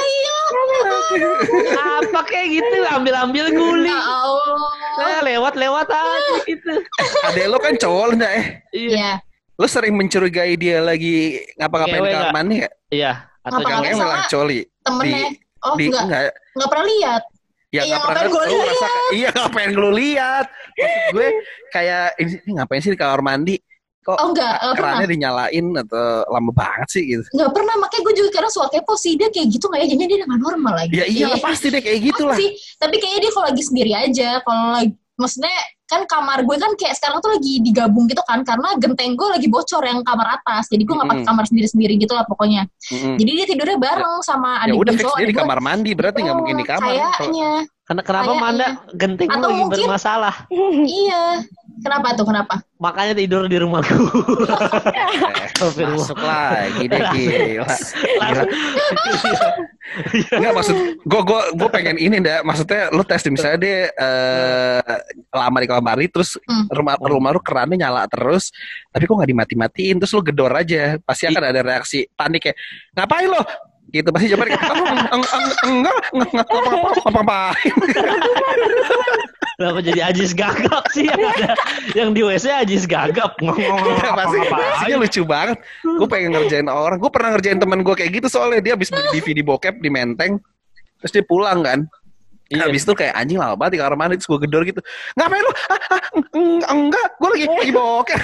Apa kayak gitu, ambil-ambil guling. Ya Allah. Nah, lewat-lewat aja gitu. Adek lo kan cowok enggak eh? Iya. Lo sering mencurigai dia lagi ngapa-ngapain di kamar mandi enggak? Iya. Atau jangan lagi coli? Temennya. Di, oh di, enggak. enggak. Enggak pernah lihat. Ya iya, nggak pernah gue lihat. Rasa, iya ngapain lu lihat? Maksud gue kayak ini, ini ngapain sih di kamar mandi? Kok oh, enggak, kerannya dinyalain atau lama banget sih gitu? Nggak pernah, makanya gue juga karena suka kepo sih dia kayak gitu nggak ya, jadinya dia nggak normal lagi. Ya iya pasti deh kayak gitu lah. Tapi kayaknya dia kalau lagi sendiri aja, kalau lagi, maksudnya kan kamar gue kan kayak sekarang tuh lagi digabung gitu kan, karena genteng gue lagi bocor yang kamar atas, jadi gue nggak pakai kamar sendiri-sendiri gitu lah pokoknya. Mm-hmm. Jadi dia tidurnya bareng ya. Sama adik gue. Ya udah fix dia di kamar mandi, berarti nggak oh, mungkin di kamar. Kayaknya. Karena kenapa kayaknya. Manda gentengmu lagi mungkin, bermasalah? Iya. Kenapa tuh, kenapa? Makanya tidur di rumah gue. eh, masuk lagi deh, gila. Gila. Enggak, maksud gue gue gue pengen ini ndak, maksudnya lu tes misalnya dia uh, lama di kamar mandi terus hmm. rumah rumah lu kerannya nyala terus, tapi kok nggak dimati-matiin, terus lu gedor aja, pasti akan ada reaksi panik kayak ngapain lo? Gitu pasti jawabannya enggak enggak apa-apain. Kenapa jadi Ajis gagap sih yang ada yang di W C Ajis gagap ngomong pasti pastinya lucu banget. Gue pengen ngerjain orang. Gue pernah ngerjain teman gue kayak gitu soalnya dia habis beli D V D bokep di Menteng, terus dia pulang kan. Iya. Habis itu kayak anjing lama banget di kamar mandi, terus gue gedor gitu. Ngapain lu? Ah, ah, enggak, gue lagi lagi bokep.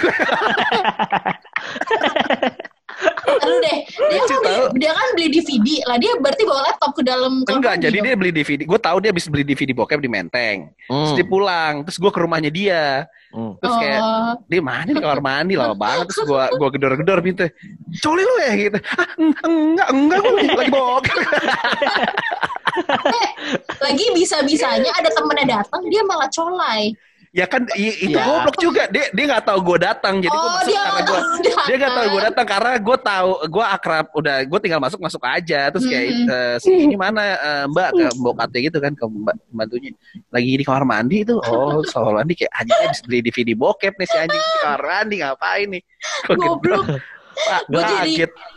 Aduh deh, dia kan, beli, dia kan beli D V D lah, dia berarti bawa laptop ke dalam. Enggak, jadi dia beli D V D. Gue tahu dia habis beli D V D bokep di Menteng. Hmm. Terus dia pulang, terus gue ke rumahnya dia. Hmm. Terus kayak oh. dia mana di kamar mandi lama banget, terus gue gue gedor-gedor pintu. Coli lu ya gitu. Ah, enggak, enggak, gue lagi, lagi bokep. Lagi bisa-bisanya ada temennya datang, dia malah colai. Ya kan i, itu ya. Goblok juga, dia dia nggak tahu gue datang, jadi oh, gue masuk karena gue dia nggak tahu gue datang karena gue tahu gue akrab, udah gue tinggal masuk masuk aja, terus kayak hmm. uh, ini mana uh, mbak ke bokatnya gitu kan, ke mbak bantunya lagi di kamar mandi itu, oh soal mandi kayak anjing habis beli D V D bokep nih si anjing di kamar mandi ngapain nih, goblok, gue jadi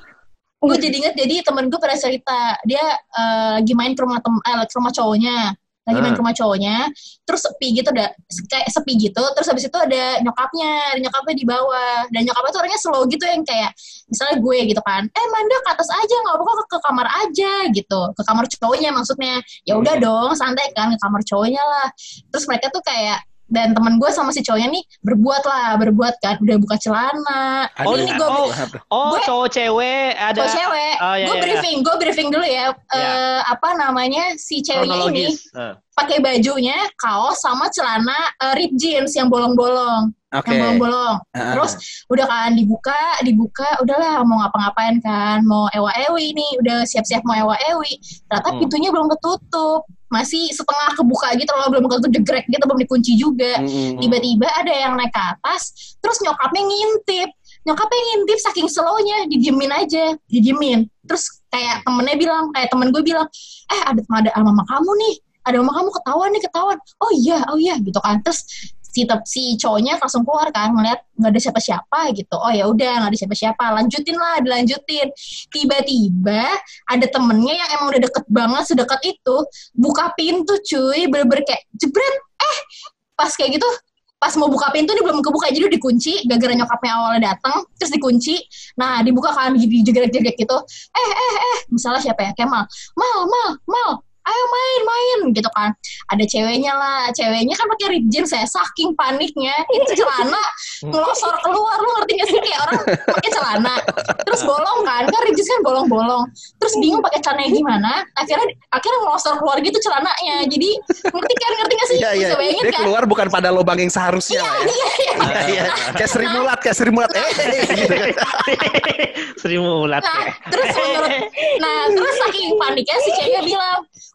gue jadi inget jadi temen gue pada cerita dia uh, lagi main ke rumah tem eh, ke rumah cowoknya. Lagi main ke rumah cowoknya, terus sepi gitu, udah kayak sepi gitu, terus habis itu ada nyokapnya, ada nyokapnya di bawah, dan nyokapnya tuh orangnya slow gitu yang kayak, misalnya gue gitu kan, eh Manda ke atas aja, nggak apa-apa ke, ke kamar aja gitu, ke kamar cowoknya maksudnya, ya udah dong, santai kan, ke kamar cowoknya lah, terus mereka tuh kayak, dan teman gue sama si cowoknya nih berbuat lah, berbuat kan, udah buka celana. Oh, ini gue, oh, oh gue, cowok cewek ada. Cowok cewek. Oh, iya, gue iya, briefing, gue briefing dulu ya. Yeah. Uh, apa namanya si ceweknya ini uh. pakai bajunya kaos sama celana uh, rip jeans yang bolong-bolong. Okay. Yang bolong-bolong. Uh. Terus udah kan dibuka, dibuka, udahlah mau ngapa-ngapain kan, mau ewa-ewi nih, udah siap-siap mau ewa-ewi. Ternyata hmm. pintunya belum ketutup. Masih setengah kebuka gitu loh, belum ketutup jegrek gitu, belum dikunci juga. Mm-hmm. Tiba-tiba ada yang naik ke atas, terus nyokapnya ngintip. Nyokapnya ngintip saking slownya, didiemin aja, didiemin. Terus kayak temennya bilang, kayak temen gue bilang, eh ada ada mama kamu nih, ada mama kamu ketahuan nih, ketahuan. Oh iya, oh iya gitu kan. Terus si si cowoknya langsung keluar kan, ngeliat nggak ada siapa-siapa gitu. Oh ya udah nggak ada siapa-siapa, lanjutin lah, dilanjutin. Tiba-tiba ada temennya yang emang udah deket banget, sedekat itu, buka pintu cuy, bener-bener kayak jebret. Eh pas kayak gitu, pas mau buka pintu dia belum kebuka, jadi udah dikunci. Gara-gara nyokapnya awalnya datang, terus dikunci. Nah dibuka kan, dijegrek-jegrek gitu. Eh eh eh, misalnya siapa ya? Kemal, mal mal mal. Ayo main main gitu kan, ada ceweknya lah, ceweknya kan pakai rip jeans ya, saking paniknya itu celana ngelosor keluar, lu ngerti gak sih, kayak orang pakai celana terus bolong kan, kan rip jeans kan bolong-bolong, terus bingung pakai celananya gimana, akhirnya akhirnya ngelosor keluar gitu celananya, jadi ngerti kan, ngerti gak sih, iya, iya. Dia kan? Keluar bukan pada lubang yang seharusnya. Iya, iya, iya. Iya, iya. Kayak Sri Mulat, kayak Sri Mulat, eh, gitu kan. Sri Mulat. Nah, terus menurut, nah terus saking paniknya si ceweknya bilang,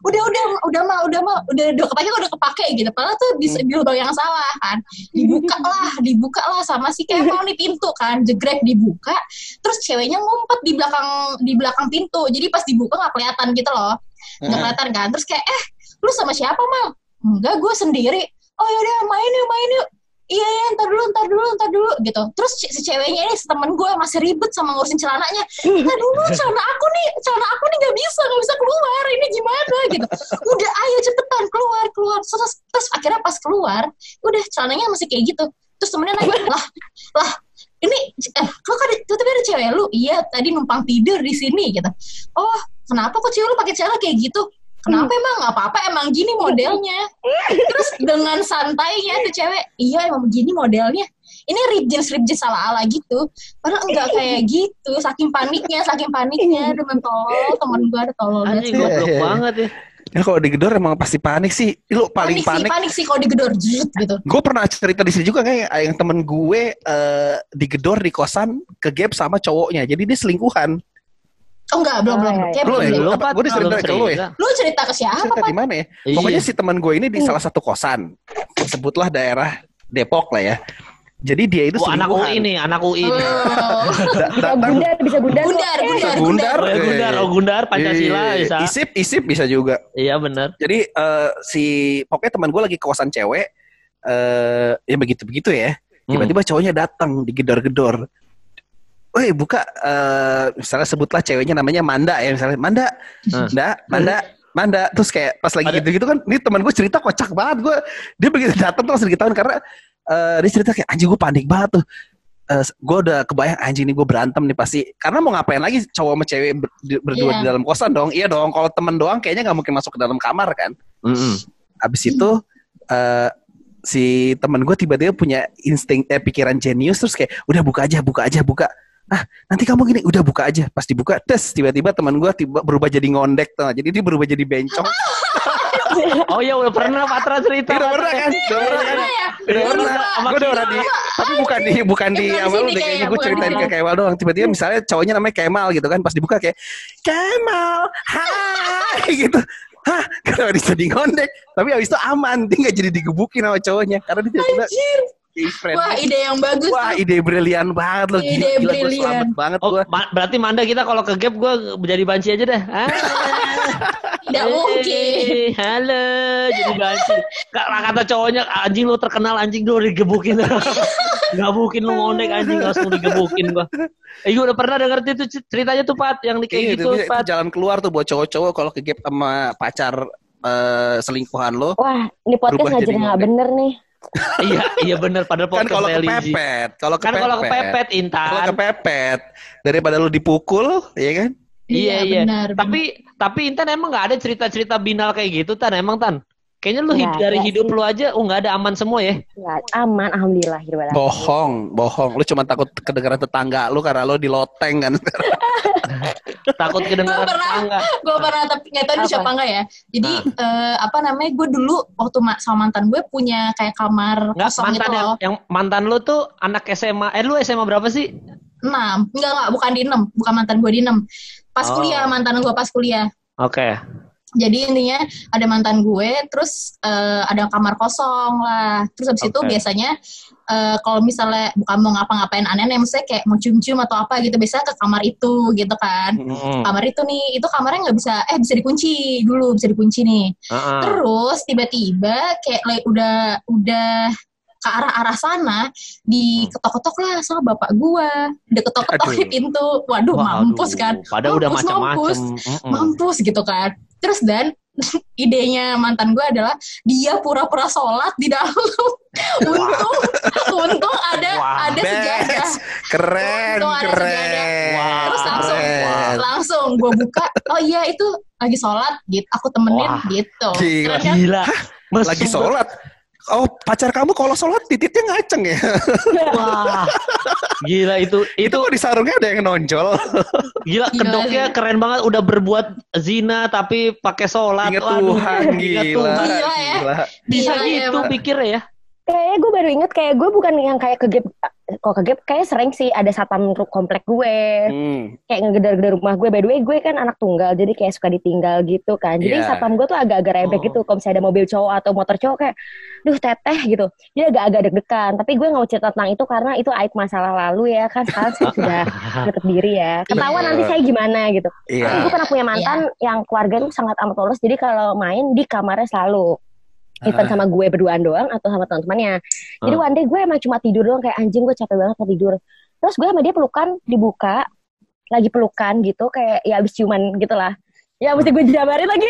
udah udah udah mah udah mah udah udah kepake udah kepake gitu. Padahal tuh di, di lubang yang salah kan. Dibuka lah, dibuka lah sama si Kemal nih pintu kan, jegrek dibuka. Terus ceweknya ngumpet di belakang di belakang pintu. Jadi pas dibuka nggak kelihatan gitu loh, nggak kelihatan kan. Terus kayak eh lu sama siapa Mal? Enggak, gue sendiri. Oh yaudah main yuk main yuk. Iya ya ntar dulu ntar dulu ntar dulu gitu. Terus si ceweknya ini temen gue masih ribet sama ngurusin celananya. Ntar dulu celana aku nih celana aku nih nggak bisa nggak bisa keluar ini gimana gitu. Udah ayo cepetan keluar keluar. Terus, terus akhirnya pas keluar udah celananya masih kayak gitu. Terus temennya nanya lah lah ini eh kok ada tuh ada cewek lu? Iya tadi numpang tidur di sini gitu. Oh kenapa kok cewek lu pakai celana kayak gitu? Kenapa emang nggak apa-apa emang gini modelnya. Terus dengan santainya tuh cewek, iya emang begini modelnya. Ini rip jeans rip jeans ala-ala gitu. Padahal enggak kayak gitu. Saking paniknya, saking paniknya. Temen tolol, temen gue ada tolol. Anjing goblok banget ya. Ya kalau digedor emang pasti panik sih. Lu paling panik. Panik sih, panik sih kalau digedor gitu. Gue pernah cerita di sini juga kayak yang temen gue uh, digedor di kosan ke gap sama cowoknya. Jadi dia selingkuhan. Oh enggak, belum, belum. Kayak belum ya? Belum, Gue dicerita ke lu ya? Lu cerita ke siapa, cerita Pak? di mana ya? Pokoknya si teman gue ini di salah satu kosan. Sebutlah daerah Depok lah ya. Jadi dia itu oh, anak U I nih, anak U I. Oh. Gundar, bisa gundar. Gundar, bisa gundar. Gundar, oh, ya, gundar, oh Gundar, Pancasila bisa. Isip, isip bisa juga. Iya benar. Jadi uh, si pokoknya teman gue lagi ke kosan cewek, uh, ya begitu-begitu ya. Tiba-tiba cowoknya datang digedor-gedor. Woi buka, uh, misalnya sebutlah ceweknya namanya Manda ya misalnya Manda, hmm. Manda, Manda, Manda, terus kayak pas lagi gitu-gitu kan, ini teman gue cerita kocak banget gue, dia begitu datang tuh langsung diketahuan karena uh, dia cerita kayak anjing gue panik banget tuh, uh, gue udah kebayang anjing ini gue berantem nih pasti, karena mau ngapain lagi cowok sama cewek ber, berdua yeah. di dalam kosan dong, iya dong, kalau temen doang kayaknya nggak mungkin masuk ke dalam kamar kan, mm-hmm. Abis itu uh, si temen gue tiba-tiba punya insting eh, pikiran jenius terus kayak udah buka aja, buka aja, buka. Ah nanti kamu gini udah buka aja pas dibuka tes tiba-tiba teman gue tiba berubah jadi ngondek tuh jadi dia berubah jadi bencong. Oh ya udah pernah Patra cerita udah pernah kan udah pernah kan udah pernah gue udah pernah di tapi bukan di bukan di awal udah kayaknya gue ceritain ke Kemal doang tiba-tiba misalnya cowoknya namanya Kemal gitu kan pas dibuka kayak Kemal hai gitu. Hah, kenapa dia jadi ngondek? Tapi abis itu aman, dia gak jadi digebukin sama cowoknya karena dia tiba-tiba wah ide yang bagus. Wah ide brilian banget loh. Ide gila, brilian. Gila, selamat banget oh, gue. Ma- berarti Manda kita kalau ke gap gue jadi banci aja dah. Tidak mungkin. Halo, jadi banci. Kata cowoknya anjing lu terkenal anjing lu digebukin. Gak mungkin lu ngondek anjing langsung digebukin gue. Eh gue udah pernah denger itu ceritanya tuh Pat yang kayak iya, gitu itu, Pat. Itu jalan keluar tuh buat cowok-cowok kalau ke gap sama pacar uh, selingkuhan lo. Wah, ini podcast ngajarin nggak bener nih. iya iya benar pada podcast kan kalau kepepet kalau kan kalau kepepet Intan kalau kepepet daripada lu dipukul ya kan iya iya, iya. Benar, tapi benar. Tapi Intan emang nggak ada cerita-cerita binal kayak gitu Tan emang Tan kayaknya lu ya, dari ya, hidup sih. lu aja oh nggak ada aman semua ya ya aman alhamdulillah bohong bohong lu cuma takut kedengeran tetangga lu karena lu di loteng kan takut kedengeran tetangga gue pernah tapi nggak tahu siapa enggak ya jadi nah. uh, apa namanya gue dulu waktu ma- sama mantan gue punya kayak kamar nggak, kosong mantan gitu yang, loh yang mantan lu tuh anak S M A eh lu S M A berapa sih enam enggak enggak bukan di enam bukan mantan gue di enam pas oh. kuliah mantan gue pas kuliah oke okay. Jadi intinya ada mantan gue, terus uh, ada kamar kosong lah. Terus habis okay. itu biasanya uh, kalau misalnya bukan mau ngapa-ngapain aneh-aneh, misalnya kayak mau cium-cium atau apa gitu, biasanya ke kamar itu gitu kan. Mm-hmm. Kamar itu nih, itu kamarnya nggak bisa, eh bisa dikunci dulu, bisa dikunci nih. Uh-uh. Terus tiba-tiba kayak like, udah udah ke arah-arah sana, diketok-ketok lah sama bapak gue. Udah ketok-ketok di pintu. Waduh, Wah, mampus aduh. kan. Padahal udah macam-macam. Mampus, mm-mm. mampus gitu kan. Terus dan idenya mantan gue adalah dia pura-pura sholat di dalam. untung, untung ada wow. ada sejadah. Keren, untung ada keren. Sejadah. Wow. Terus langsung, wow. langsung gue buka. Oh iya itu lagi sholat, gitu. Aku temenin wow. gitu. Gila, kan? gila. Lagi sholat. Oh pacar kamu kalau sholat titiknya ngaceng ya? Wah, gila itu itu, itu kok di sarungnya ada yang nonjol. Gila kedoknya keren banget udah berbuat zina tapi pakai sholat. Ingat Tuhan, Aduh, gila. Gila ya. Bisa Gila gitu ya, pikirnya ya. Kayaknya gue baru inget kayak gue bukan yang kayak ke gap kok ke gap kayak sering sih ada satpam komplek gue. Hmm. Kayak ngegedar-gedar rumah gue. By the way, gue kan anak tunggal jadi kayak suka ditinggal gitu kan. Jadi yeah. satpam gue tuh agak-agak rebek oh. gitu. Kalau misalnya ada mobil cowok atau motor cowok kayak duh teteh gitu. Jadi agak-agak deg-degan. Tapi gue gak mau cerita tentang itu karena itu aib masa lalu ya kan. Sekarang saya sudah menutup diri ya. Ketahuan yeah. nanti saya gimana gitu. Yeah. Tapi gue pernah punya mantan yeah. yang keluarga tuh sangat amat polos. Jadi kalau main di kamarnya selalu even sama gue berduaan doang atau sama teman-temannya. Jadi uh. one day gue emang cuma tidur doang kayak anjing gue capek banget mau tidur. Terus gue sama dia pelukan dibuka, lagi pelukan gitu kayak ya abis ciuman gitu lah. Ya mesti gue jabarin lagi.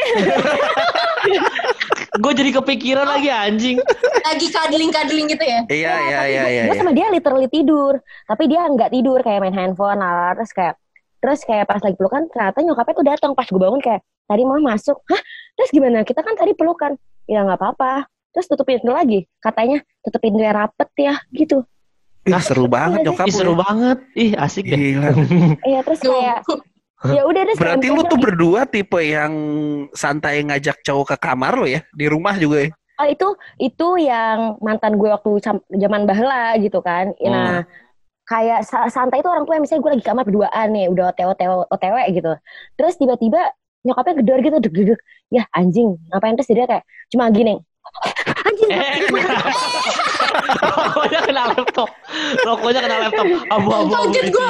Gue jadi kepikiran lagi anjing. Lagi cuddling-cuddling gitu ya? Iya iya iya. iya gue sama dia literally tidur, tapi dia nggak tidur kayak main handphone lah. Terus kayak terus kayak pas lagi pelukan ternyata nyokapnya tuh datang pas gue bangun kayak tadi mama masuk. Hah? Terus gimana? Kita kan tadi pelukan. Ya nggak apa-apa. Terus tutupin pintu lagi. Katanya tutupin pintunya rapet ya gitu. Ih, seru banget nyokap. Ih, seru banget. Ih asik deh. Iya terus kayak ya udah deh. Berarti lu tuh lagi. Berdua tipe yang santai ngajak cowok ke kamar lo ya di rumah juga ya? Oh itu itu yang mantan gue waktu zaman bahla gitu kan. Hmm. Nah kayak santai itu orang tua misalnya gue lagi kamar berduaan nih udah otw otw otw gitu. Terus tiba-tiba nyokapnya gedor gitu deg-deg ya anjing ngapain terus dia kayak cuma gini anjing rokoknya kena laptop rokoknya kena laptop abu-abu kaget gue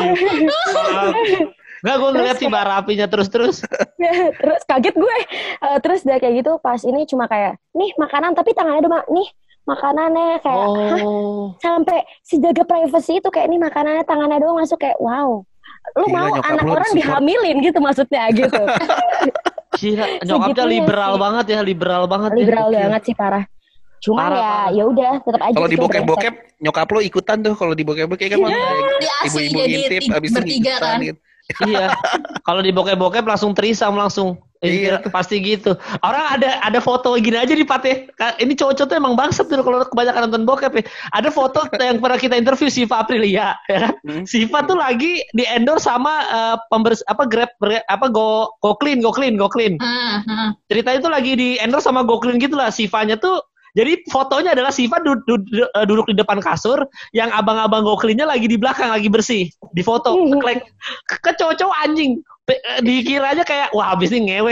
nggak gue ngeliat si barapinya terus-terus terus kaget gue uh, terus dia kayak gitu pas ini cuma kayak nih makanan tapi tangannya doang nih makanannya kayak oh. sampai si jaga privacy itu kayak nih makanannya tangannya doang masuk kayak wow lu gila, mau anak orang support. Dihamilin gitu maksudnya gitu. Gila, nyokapnya liberal ya, banget ya, liberal banget. Liberal ya. banget sih parah. Cuma ya ya udah tetap aja. Kalau di bokep-bokep nyokap lo ikapan tuh kalau di bokep-bokep kan ibu-ibu ngintip abis bertiga kan. Gitu. Iya. Kalau di bokep-bokep langsung trisam langsung. Iya, pasti gitu. Orang ada ada foto gini aja di Pate. Ini cowok-cowok tuh emang bangsat tuh kalau kebanyakan nonton bokep ya. Ada foto yang pernah kita interview Siva Aprilia, ya kan? Hmm. Siva tuh lagi di endorse sama uh, pembers apa Grab apa Go Go Clean, Go Clean, Go Clean. Hmm, hmm. Ceritanya tuh lagi di endorse sama Go Clean gitu lah. Sivanya tuh jadi fotonya adalah Siva du, du, du, duduk di depan kasur, yang abang-abang Go Clean-nya lagi di belakang, lagi bersih. Di foto, ke, ke cowok-cowok anjing. Dikiranya kayak, wah abis ini ngewe.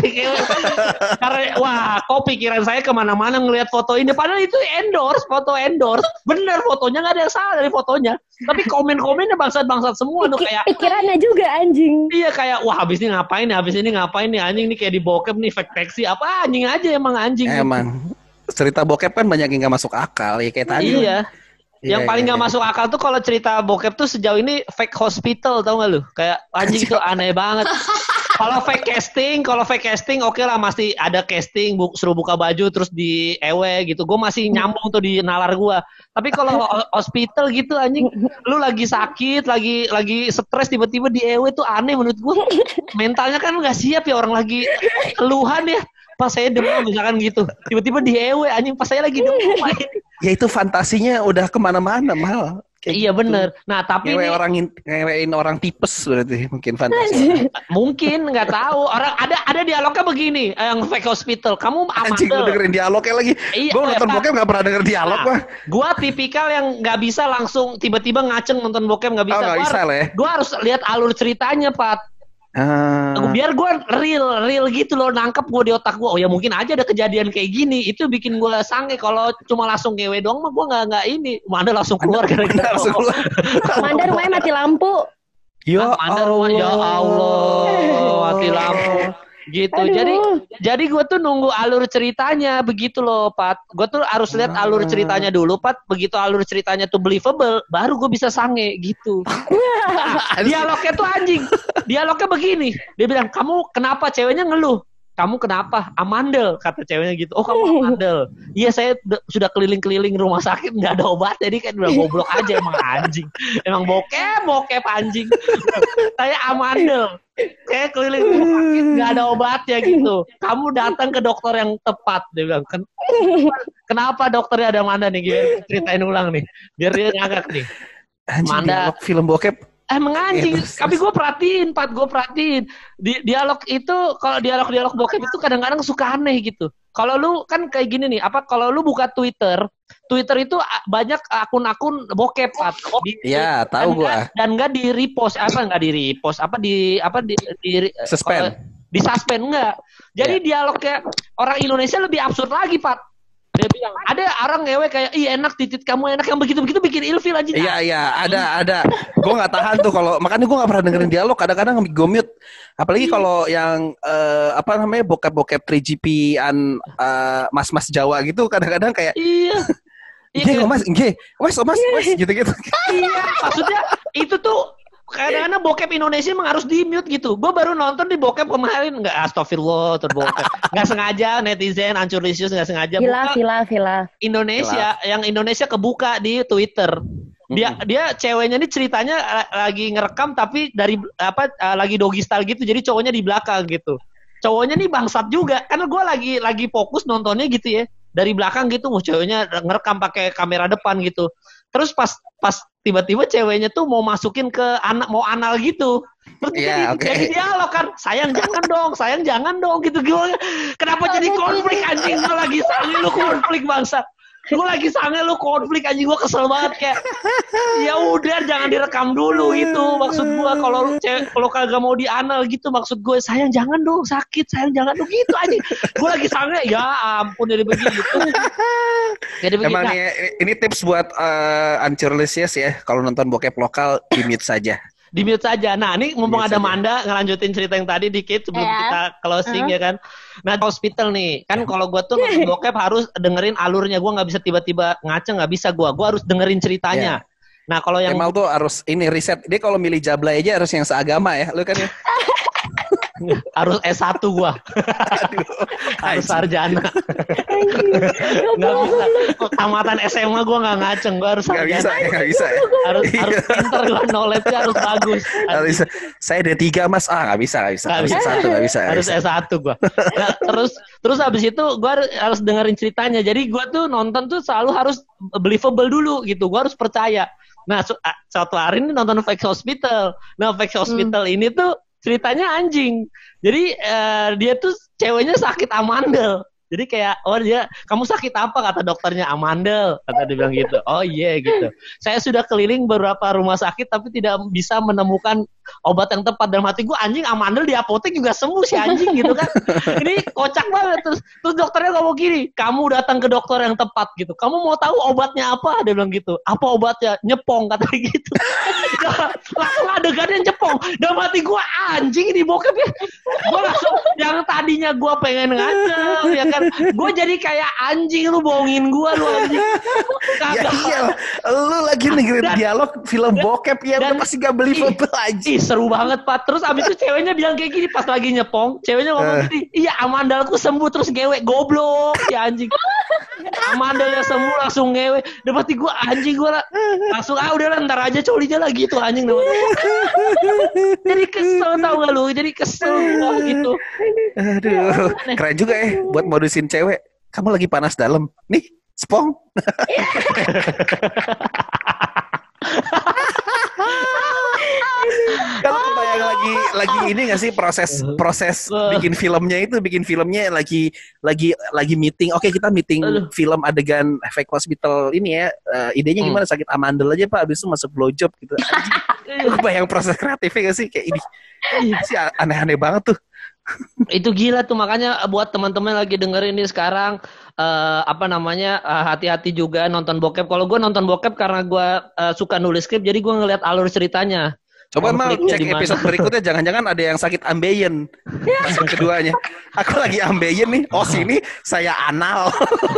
Karena, wah kok pikiran saya kemana-mana ngelihat foto ini. Padahal itu endorse, foto endorse. Bener, fotonya gak ada yang salah dari fotonya. Tapi komen-komennya bangsat-bangsat semua. Tuh kayak pikirannya juga anjing. Iya kayak, wah abis ini ngapain nih, abis ini ngapain nih. Anjing nih kayak di bokep nih, fake-fake apa anjing aja emang anjing. Emang. Cerita bokep kan banyak yang gak masuk akal ya kayak tadi. Iya. Yang yeah, paling yeah, gak yeah. masuk akal tuh kalau cerita bokep tuh sejauh ini fake hospital, tau gak lu? Kayak anjing tuh aneh banget. Kalau fake casting, kalau fake casting oke okay lah, masih ada casting bu, suruh buka baju terus di ewe gitu. Gue masih nyambung tuh di nalar gue. Tapi kalau hospital gitu anjing, lu lagi sakit, lagi lagi stres tiba-tiba di ewe tuh aneh menurut gue. Mentalnya kan nggak siap ya orang lagi keluhan ya. Pas saya demam misalkan gitu, tiba-tiba di ewe anjing pas saya lagi demam. Ya itu fantasinya udah kemana-mana mal. Iya gitu. Bener. Nah tapi ngewe ini orang ngewein orang tipes berarti mungkin fantasi. Mungkin nggak tahu. Orang ada ada dialognya begini, yang fake hospital. Kamu amandel. Anjing gue dengerin dialognya lagi. Iya, gue nonton bokep nggak pernah denger dialog mah. Nah, gue tipikal yang nggak bisa langsung tiba-tiba ngaceng nonton bokep nggak bisa. Oh, gak bisa ya. Gue harus lihat alur ceritanya Pat. Uh, biar gue real real gitu loh, nangkep gue di otak gue. Oh ya mungkin aja ada kejadian kayak gini, itu bikin gue sange. Kalau cuma langsung ngewe doang mah gue nggak nggak ini. Manda langsung keluar gara-gara langsung keluar. Manda rumahnya mati lampu. Ya Manda rumah ya Allah mati lampu gitu. Aduh. Jadi jadi gue tuh nunggu alur ceritanya begitu loh Pat. Gue tuh harus lihat alur ceritanya dulu Pat. Begitu alur ceritanya tuh believable, baru gue bisa sange gitu. Nah, dialognya tuh anjing. Dialognya begini. Dia bilang, kamu kenapa? Ceweknya ngeluh. Kamu kenapa? Amandel, kata ceweknya gitu. Oh kamu amandel. Iya saya d- sudah keliling-keliling rumah sakit nggak ada obat. Jadi kan udah goblok aja emang anjing. Emang bokep, bokep anjing. Saya amandel. Kayak keliling rumah sakit nggak ada obatnya gitu. Kamu datang ke dokter yang tepat. Dia bilang, kenapa dokternya ada Manda nih? Gimana? Ceritain ulang nih. Biar dia ngagak nih. Anjing, Manda film bokep. Emang anjing, ya, tapi gue perhatiin, Pat, gue perhatiin. Di, dialog itu, kalau dialog-dialog bokep itu kadang-kadang suka aneh gitu. Kalau lu kan kayak gini nih, apa kalau lu buka Twitter, Twitter itu banyak akun-akun bokep atau Iya, tahu gua. Dan enggak di repost, apa enggak di repost, apa di apa di, di suspend. Di suspend enggak. Jadi yeah. dialognya orang Indonesia lebih absurd lagi, Pat. Dia bilang, ada orang ngewe kayak, ih enak titit kamu enak, yang begitu-begitu bikin ilfil aja. Iya, iya, ada, ada. Gue gak tahan tuh kalau, makanya gue gak pernah dengerin dialog, kadang-kadang gue mute. Apalagi kalau yang, uh, apa namanya, bokep-bokep three G P-an uh, mas-mas Jawa gitu, kadang-kadang kayak, iya. Iya, mas, nge, mas, mas, mas, gitu-gitu. Iya, maksudnya itu tuh, kadang-kadang bokep Indonesia emang harus di-mute gitu. Gue baru nonton di bokep kemarin, nggak astagfirullah terbokep. Nggak sengaja netizen, ancurlisius nggak sengaja. Hilaf, hilaf, hilaf. Indonesia, hilaf. Yang Indonesia kebuka di Twitter. Dia mm-hmm. dia ceweknya ini ceritanya lagi ngerekam tapi dari apa lagi doggy style gitu. Jadi cowoknya di belakang gitu. Cowoknya nih bangsat juga. Karena gue lagi lagi fokus nontonnya gitu ya. Dari belakang gitu, mau ceweknya ngerekam pakai kamera depan gitu. Terus pas pas tiba-tiba ceweknya tuh mau masukin ke anak mau anal gitu. Terus yeah, jadi, okay. jadi dialog kan, sayang jangan dong, sayang jangan dong gitu. Gue kenapa jadi konflik anjing, gue lagi sange lu konflik bangsat. Gue lagi sange lu konflik anjing, gue kesel banget kayak. Ya udah jangan direkam dulu itu maksud gue, kalau kalau kagak mau di anal gitu maksud gue, sayang jangan dong, sakit, sayang jangan dong gitu anjing. Gue lagi sange, ya ampun jadi begitu. Jadi emang ini, ini tips buat uh, ancurlisius ya, kalau nonton bokep lokal di mute saja. Di mute saja. Nah, ini mumpung ada Manda ngelanjutin cerita yang tadi dikit sebelum yeah. kita closing uh-huh. ya kan. Nah, hospital nih. Kan kalau gue tuh nonton bokep harus dengerin alurnya. Gue nggak bisa tiba-tiba ngaca, nggak bisa gue. Gue harus dengerin ceritanya. Yeah. Nah, kalau yang Kemal tuh harus ini riset. Dia kalau milih jablay aja harus yang seagama ya. Lu kan ya. Harus S satu gua. Aduh, harus sarjana. Nggak bisa. Tamatan S M A gua nggak ngaceng, gua harus sarjana. Nggak bisa, nggak bisa ya. Harus harus pinter gua, knowledge-nya harus bagus. Harus, saya D tiga mas, ah nggak bisa, nggak bisa. Harus S satu, nggak bisa. Harus S satu gua. Nah, terus terus habis itu gua harus dengerin ceritanya. Jadi gua tuh nonton tuh selalu harus believable dulu gitu. Gua harus percaya. Nah, su- suatu hari ini nonton Fake Hospital. Nah, Fake Hospital hmm. ini tuh ceritanya anjing. Jadi uh, dia tuh ceweknya sakit amandel. Jadi kayak, oh dia, kamu sakit apa? Kata dokternya, amandel. Kata dia bilang gitu. Oh iya yeah, gitu. Saya sudah keliling beberapa rumah sakit tapi tidak bisa menemukan obat yang tepat. Dalam hati gue, anjing amandel di apotek juga sembuh si anjing gitu kan. Ini kocak banget. Terus, terus dokternya ngomong gini, kamu datang ke dokter yang tepat gitu. Kamu mau tahu obatnya apa? Dia bilang gitu. Apa obatnya? Nyepong kata gitu. Langsung adegannya nyepong. Dalam hati gue, anjing ini bokep ya. Gue langsung, yang tadinya gue pengen ngacau ya kan. Gue jadi kayak anjing, lu bohongin gue lu anjing. Ya iya, lu lagi dengerin dialog film bokep ya, udah pasti gak believable aja. Seru banget Pak. Terus abis itu ceweknya bilang kayak gini pas lagi nyepong, ceweknya ngomong uh. gini, iya amandalku sembuh terus ngewe, goblok ya anjing. Amandalnya sembuh langsung ngewe. Udah pasti gue anjing, gue langsung ah udah lah ntar aja colinya lagi tuh anjing. Jadi kesel tau gak lu, jadi kesel gue gitu. Aduh, keren juga ya buat modusin cewek. Kamu lagi panas dalam. Nih, spong. Kalau kebayang lagi lagi ini nggak sih proses proses bikin filmnya itu bikin filmnya lagi lagi lagi meeting. Oke, kita meeting film adegan Fake Hospital ini ya. Uh, idenya gimana? Sakit amandel aja Pak, habis itu masuk blowjob gitu. Kebayang proses kreatifnya nggak sih kayak ini? Sih aneh-aneh banget tuh. Itu gila tuh, makanya buat teman-teman lagi dengerin ini sekarang uh, apa namanya uh, hati-hati juga nonton bokep. Kalau gue nonton bokep karena gue uh, suka nulis skrip, jadi gue ngeliat alur ceritanya. Coba mal cek dimana. Episode berikutnya, jangan-jangan ada yang sakit ambeien. Yang keduanya, aku lagi ambeien nih. Oh sini saya anal.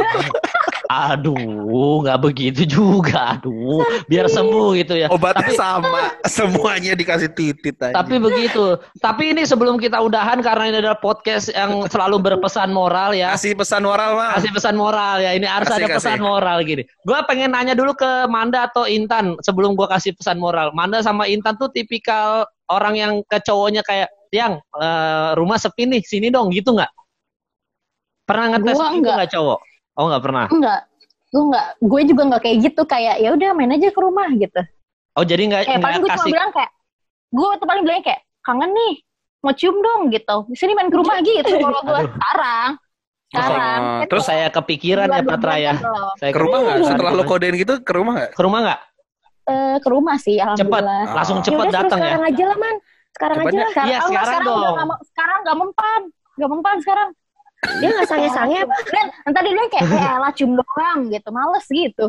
Aduh, nggak begitu juga. Aduh, biar sembuh gitu ya. Obatnya tapi, sama, semuanya dikasih titit aja. Tapi begitu. Tapi ini sebelum kita udahan, karena ini adalah podcast yang selalu berpesan moral ya. Kasih pesan moral, Mas. Kasih pesan moral ya. Ini harus kasih, ada pesan kasih. moral gini. Gue pengen nanya dulu ke Manda atau Intan sebelum gue kasih pesan moral. Manda sama Intan tuh tipikal orang yang ke cowoknya kayak, yang uh, rumah sepi nih, sini dong gitu nggak? Pernah ngetes gitu nggak cowok? Oh nggak pernah? Enggak, gue nggak, gue juga nggak kayak gitu, kayak ya udah main aja ke rumah gitu. Oh jadi nggak? Kayak paling gue cuma bilang kayak, gue tuh paling bilang kayak kangen nih, mau cium dong gitu. Sini main ke rumah gitu kalau gue sekarang. Sekarang. Oh, Terus saya kepikiran ya Patra ya. Saya ke rumah nggak? Setelah lo kodein gitu ke rumah nggak? Ke rumah nggak? Eh, ke rumah sih, Cepet, alhamdulillah. langsung Oh. cepet Yaudah, suruh datang ya. sekarang aja lah, Man. Sekarang Cepet aja ya? lah. Iya Oh, sekarang sekarang dong. udah nggak mau- sekarang nggak mempan, nggak mempan sekarang. Dia nggak sange-sange apa? Dan ntar dia bilang kayak, eh lah cium doang gitu, males gitu.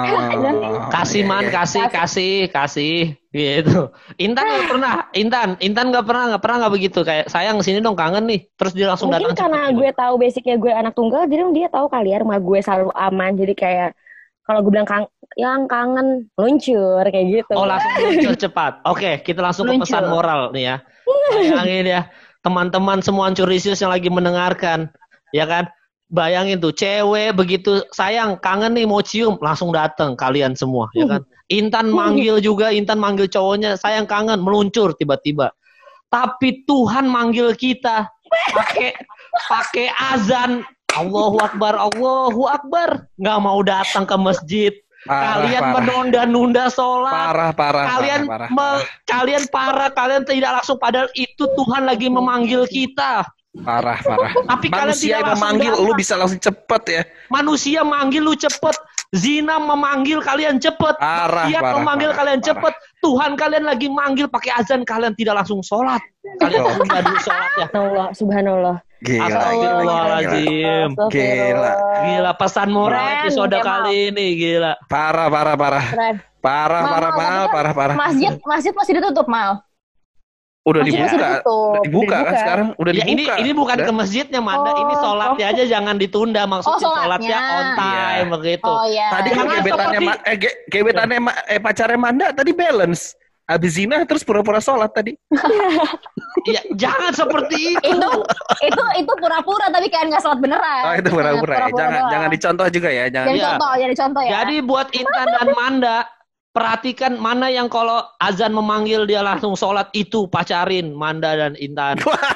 Oh, Kasih iya, man, iya. kasih, kasih, kasih, gitu. Intan nggak pernah, Intan, Intan nggak pernah, nggak pernah nggak begitu. Kayak sayang sini dong kangen nih. Terus dia langsung Mungkin datang. karena cepet. gue tahu basicnya gue anak tunggal, jadi dia tahu kali ya rumah gue selalu aman. Jadi kayak kalau gue bilang kang yang kangen luncur kayak gitu. Oh langsung muncul cepat. Oke, kita langsung ke Luncur. pesan moral nih ya. Bayangin ya, teman-teman semua Ancurisius yang lagi mendengarkan, ya kan? Bayangin tuh, cewek begitu sayang, kangen nih mau cium, langsung datang kalian semua, ya kan? Intan manggil juga, Intan manggil cowoknya, sayang kangen, meluncur tiba-tiba. Tapi Tuhan manggil kita pakai pakai azan, Allahu Akbar, Allahu Akbar, nggak mau datang ke masjid. Parah, Kalian parah. menunda-nunda sholat. Parah, parah, kalian parah, parah, me- parah. kalian parah, kalian tidak langsung padahal itu Tuhan lagi memanggil kita. Parah, parah. Tapi kalian Manusia tidak yang langsung memanggil, datang. lu bisa langsung cepet ya. Manusia manggil lu cepet. Zina memanggil kalian cepet. Parah, Maksiat parah, memanggil parah, kalian parah. cepet. Tuhan kalian lagi manggil pakai azan, kalian tidak langsung sholat. Kalian Betul. tunda dulu sholatnya. Subhanallah, subhanallah. Gila, gila, Astagfirullahaladzim. Gila. Gila pesan moral Keren, episode Kemal. kali ini gila. Parah, parah, parah. Keren. Parah, Mal, parah, Mal, tapi parah, kan parah, parah. Masjid, masjid masih ditutup, Mal. Udah Masjid masih dibuka. ditutup. Udah dibuka kan Dibuka. sekarang? Udah Ya, ini dibuka. ini bukan Udah. ke masjidnya Manda, Oh. ini sholatnya aja jangan ditunda maksudnya Oh, sholatnya. sholatnya on time Iya. begitu. Oh iya. Tadi kan Jangan gebetannya seperti- Ma- eh, ge- gebetannya Ma- eh pacarnya Manda tadi balance. Habis zina terus pura-pura sholat tadi. Ya, jangan seperti itu. itu itu itu pura-pura tapi kayak nggak sholat beneran. Oh, itu pura-pura ya. Jangan doang. jangan dicontoh juga ya, jangan. Jadi Iya. contoh, jadi contoh ya. Jadi buat Intan dan Manda, perhatikan mana yang kalau azan memanggil dia langsung sholat itu pacarin Manda dan Intan. Wah,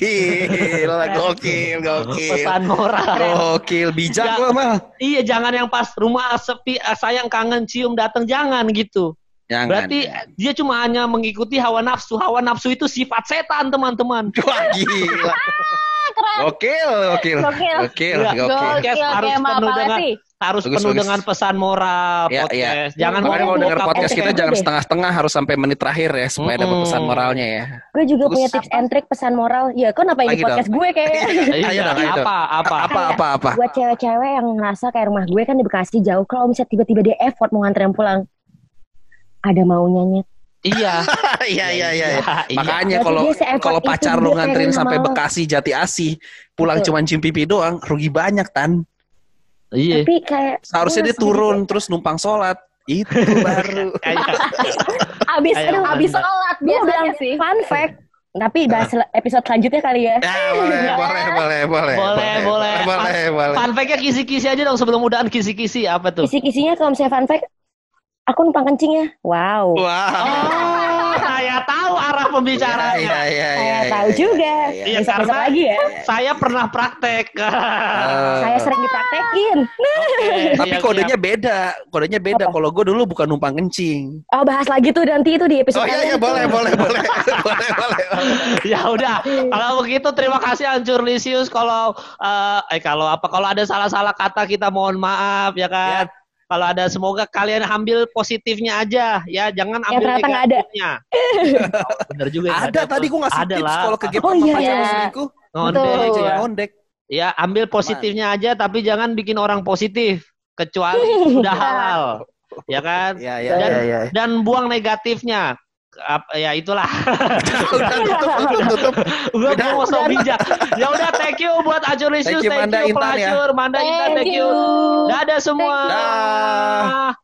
gila, gokil, gokil. Pesan moral. Gokil, bijak Ya. lo, Mal. Iya, jangan yang pas rumah sepi, ah, sayang kangen cium datang jangan gitu. Jangan. Berarti dia cuma hanya mengikuti hawa nafsu. Hawa nafsu itu sifat setan, teman-teman. Wah, gila. Keren. Gokil, gokil. Gokil. Gokil, Iya. gokil. Podcast Gokil, harus Kemal penuh dengan Palevi. harus Bagus, penuh bagus. dengan pesan moral Ya, podcast. ya. Jangan Makanya kalau buka denger podcast kita podcast jangan deh. setengah-setengah, harus sampai menit terakhir ya supaya dapat Mm-mm. pesan moralnya ya. Gue juga Bagus. punya tips and trick pesan moral. Ya, kok kenapa ini Lagi podcast gue kayaknya? Iya, Ayo dong, ayo dong. apa apa Apa apa apa. Buat cewek-cewek yang ngerasa kayak rumah gue kan di Bekasi jauh. Kalau misalnya tiba-tiba dia effort mau nganterin pulang, ada maunya nyet. Iya. Iya, iya, iya. Iya. Makanya Berarti kalau dia se-effort kalau itu, pacar dia lu nganterin pengen sampai sama lo. Bekasi Jati Asih, pulang Betul. cuma cium pipi doang, rugi banyak Tan. Iya. Tapi kayak Seharusnya gue dia langsung turun terus numpang sholat. Itu baru. Kayak Abis, Kayak aduh, Manda. abis sholat Gue bilang biasanya sih. fun fact. Tapi bahas episode selanjutnya kali ya. Ya, boleh, boleh, boleh, boleh. Boleh, boleh. Boleh, boleh. fun fact-nya kisi-kisi aja dong sebelum udahan kisi-kisi apa tuh? Kisi-kisinya kalau misalnya fun fact, aku numpang kencing ya. Wow. Wah. Oh, saya tahu arah pembicaranya. Iya, iya, Saya iya. tahu iya, juga. iya, iya. Iya, Besok-besok karena- lagi ya. Saya pernah praktek. Eh, Saya sering dipraktekin. Oke, Tapi siap, kodenya siap. beda, kodenya beda. Apa? Kalau gue dulu bukan numpang kencing. Oh, bahas lagi tuh nanti itu di episode Oh iya, iya, kalian tuh. boleh, boleh, boleh, boleh, boleh. Ya udah, kalau begitu terima kasih Ancur Lisius. Kalau eh, eh kalau apa kalau ada salah-salah kata kita mohon maaf ya kan. Kalau ada semoga kalian ambil positifnya aja ya, jangan ambil ternyata nggak ada. negatifnya. Oh, bener juga. nggak Ada tadi gue ngasih Ada tips lah. kalau ke game Oh, sama iya. pacar selingkuh. Ngondek Betul. ya. Ngondek. Ya, ambil positifnya aja tapi jangan bikin orang positif kecuali sudah halal. Ya kan? Iya, iya, Dan, iya, iya. dan buang negatifnya. Ap- ya itulah. Udah tutup, tutup, tutup. Gue Udah. mau so bijak. Ya udah, thank you buat Acur Lisius, Thank you, thank Manda you Intan ya. pelacur, Manda Intan, Thank thank you. you. Dadah semua. Dah.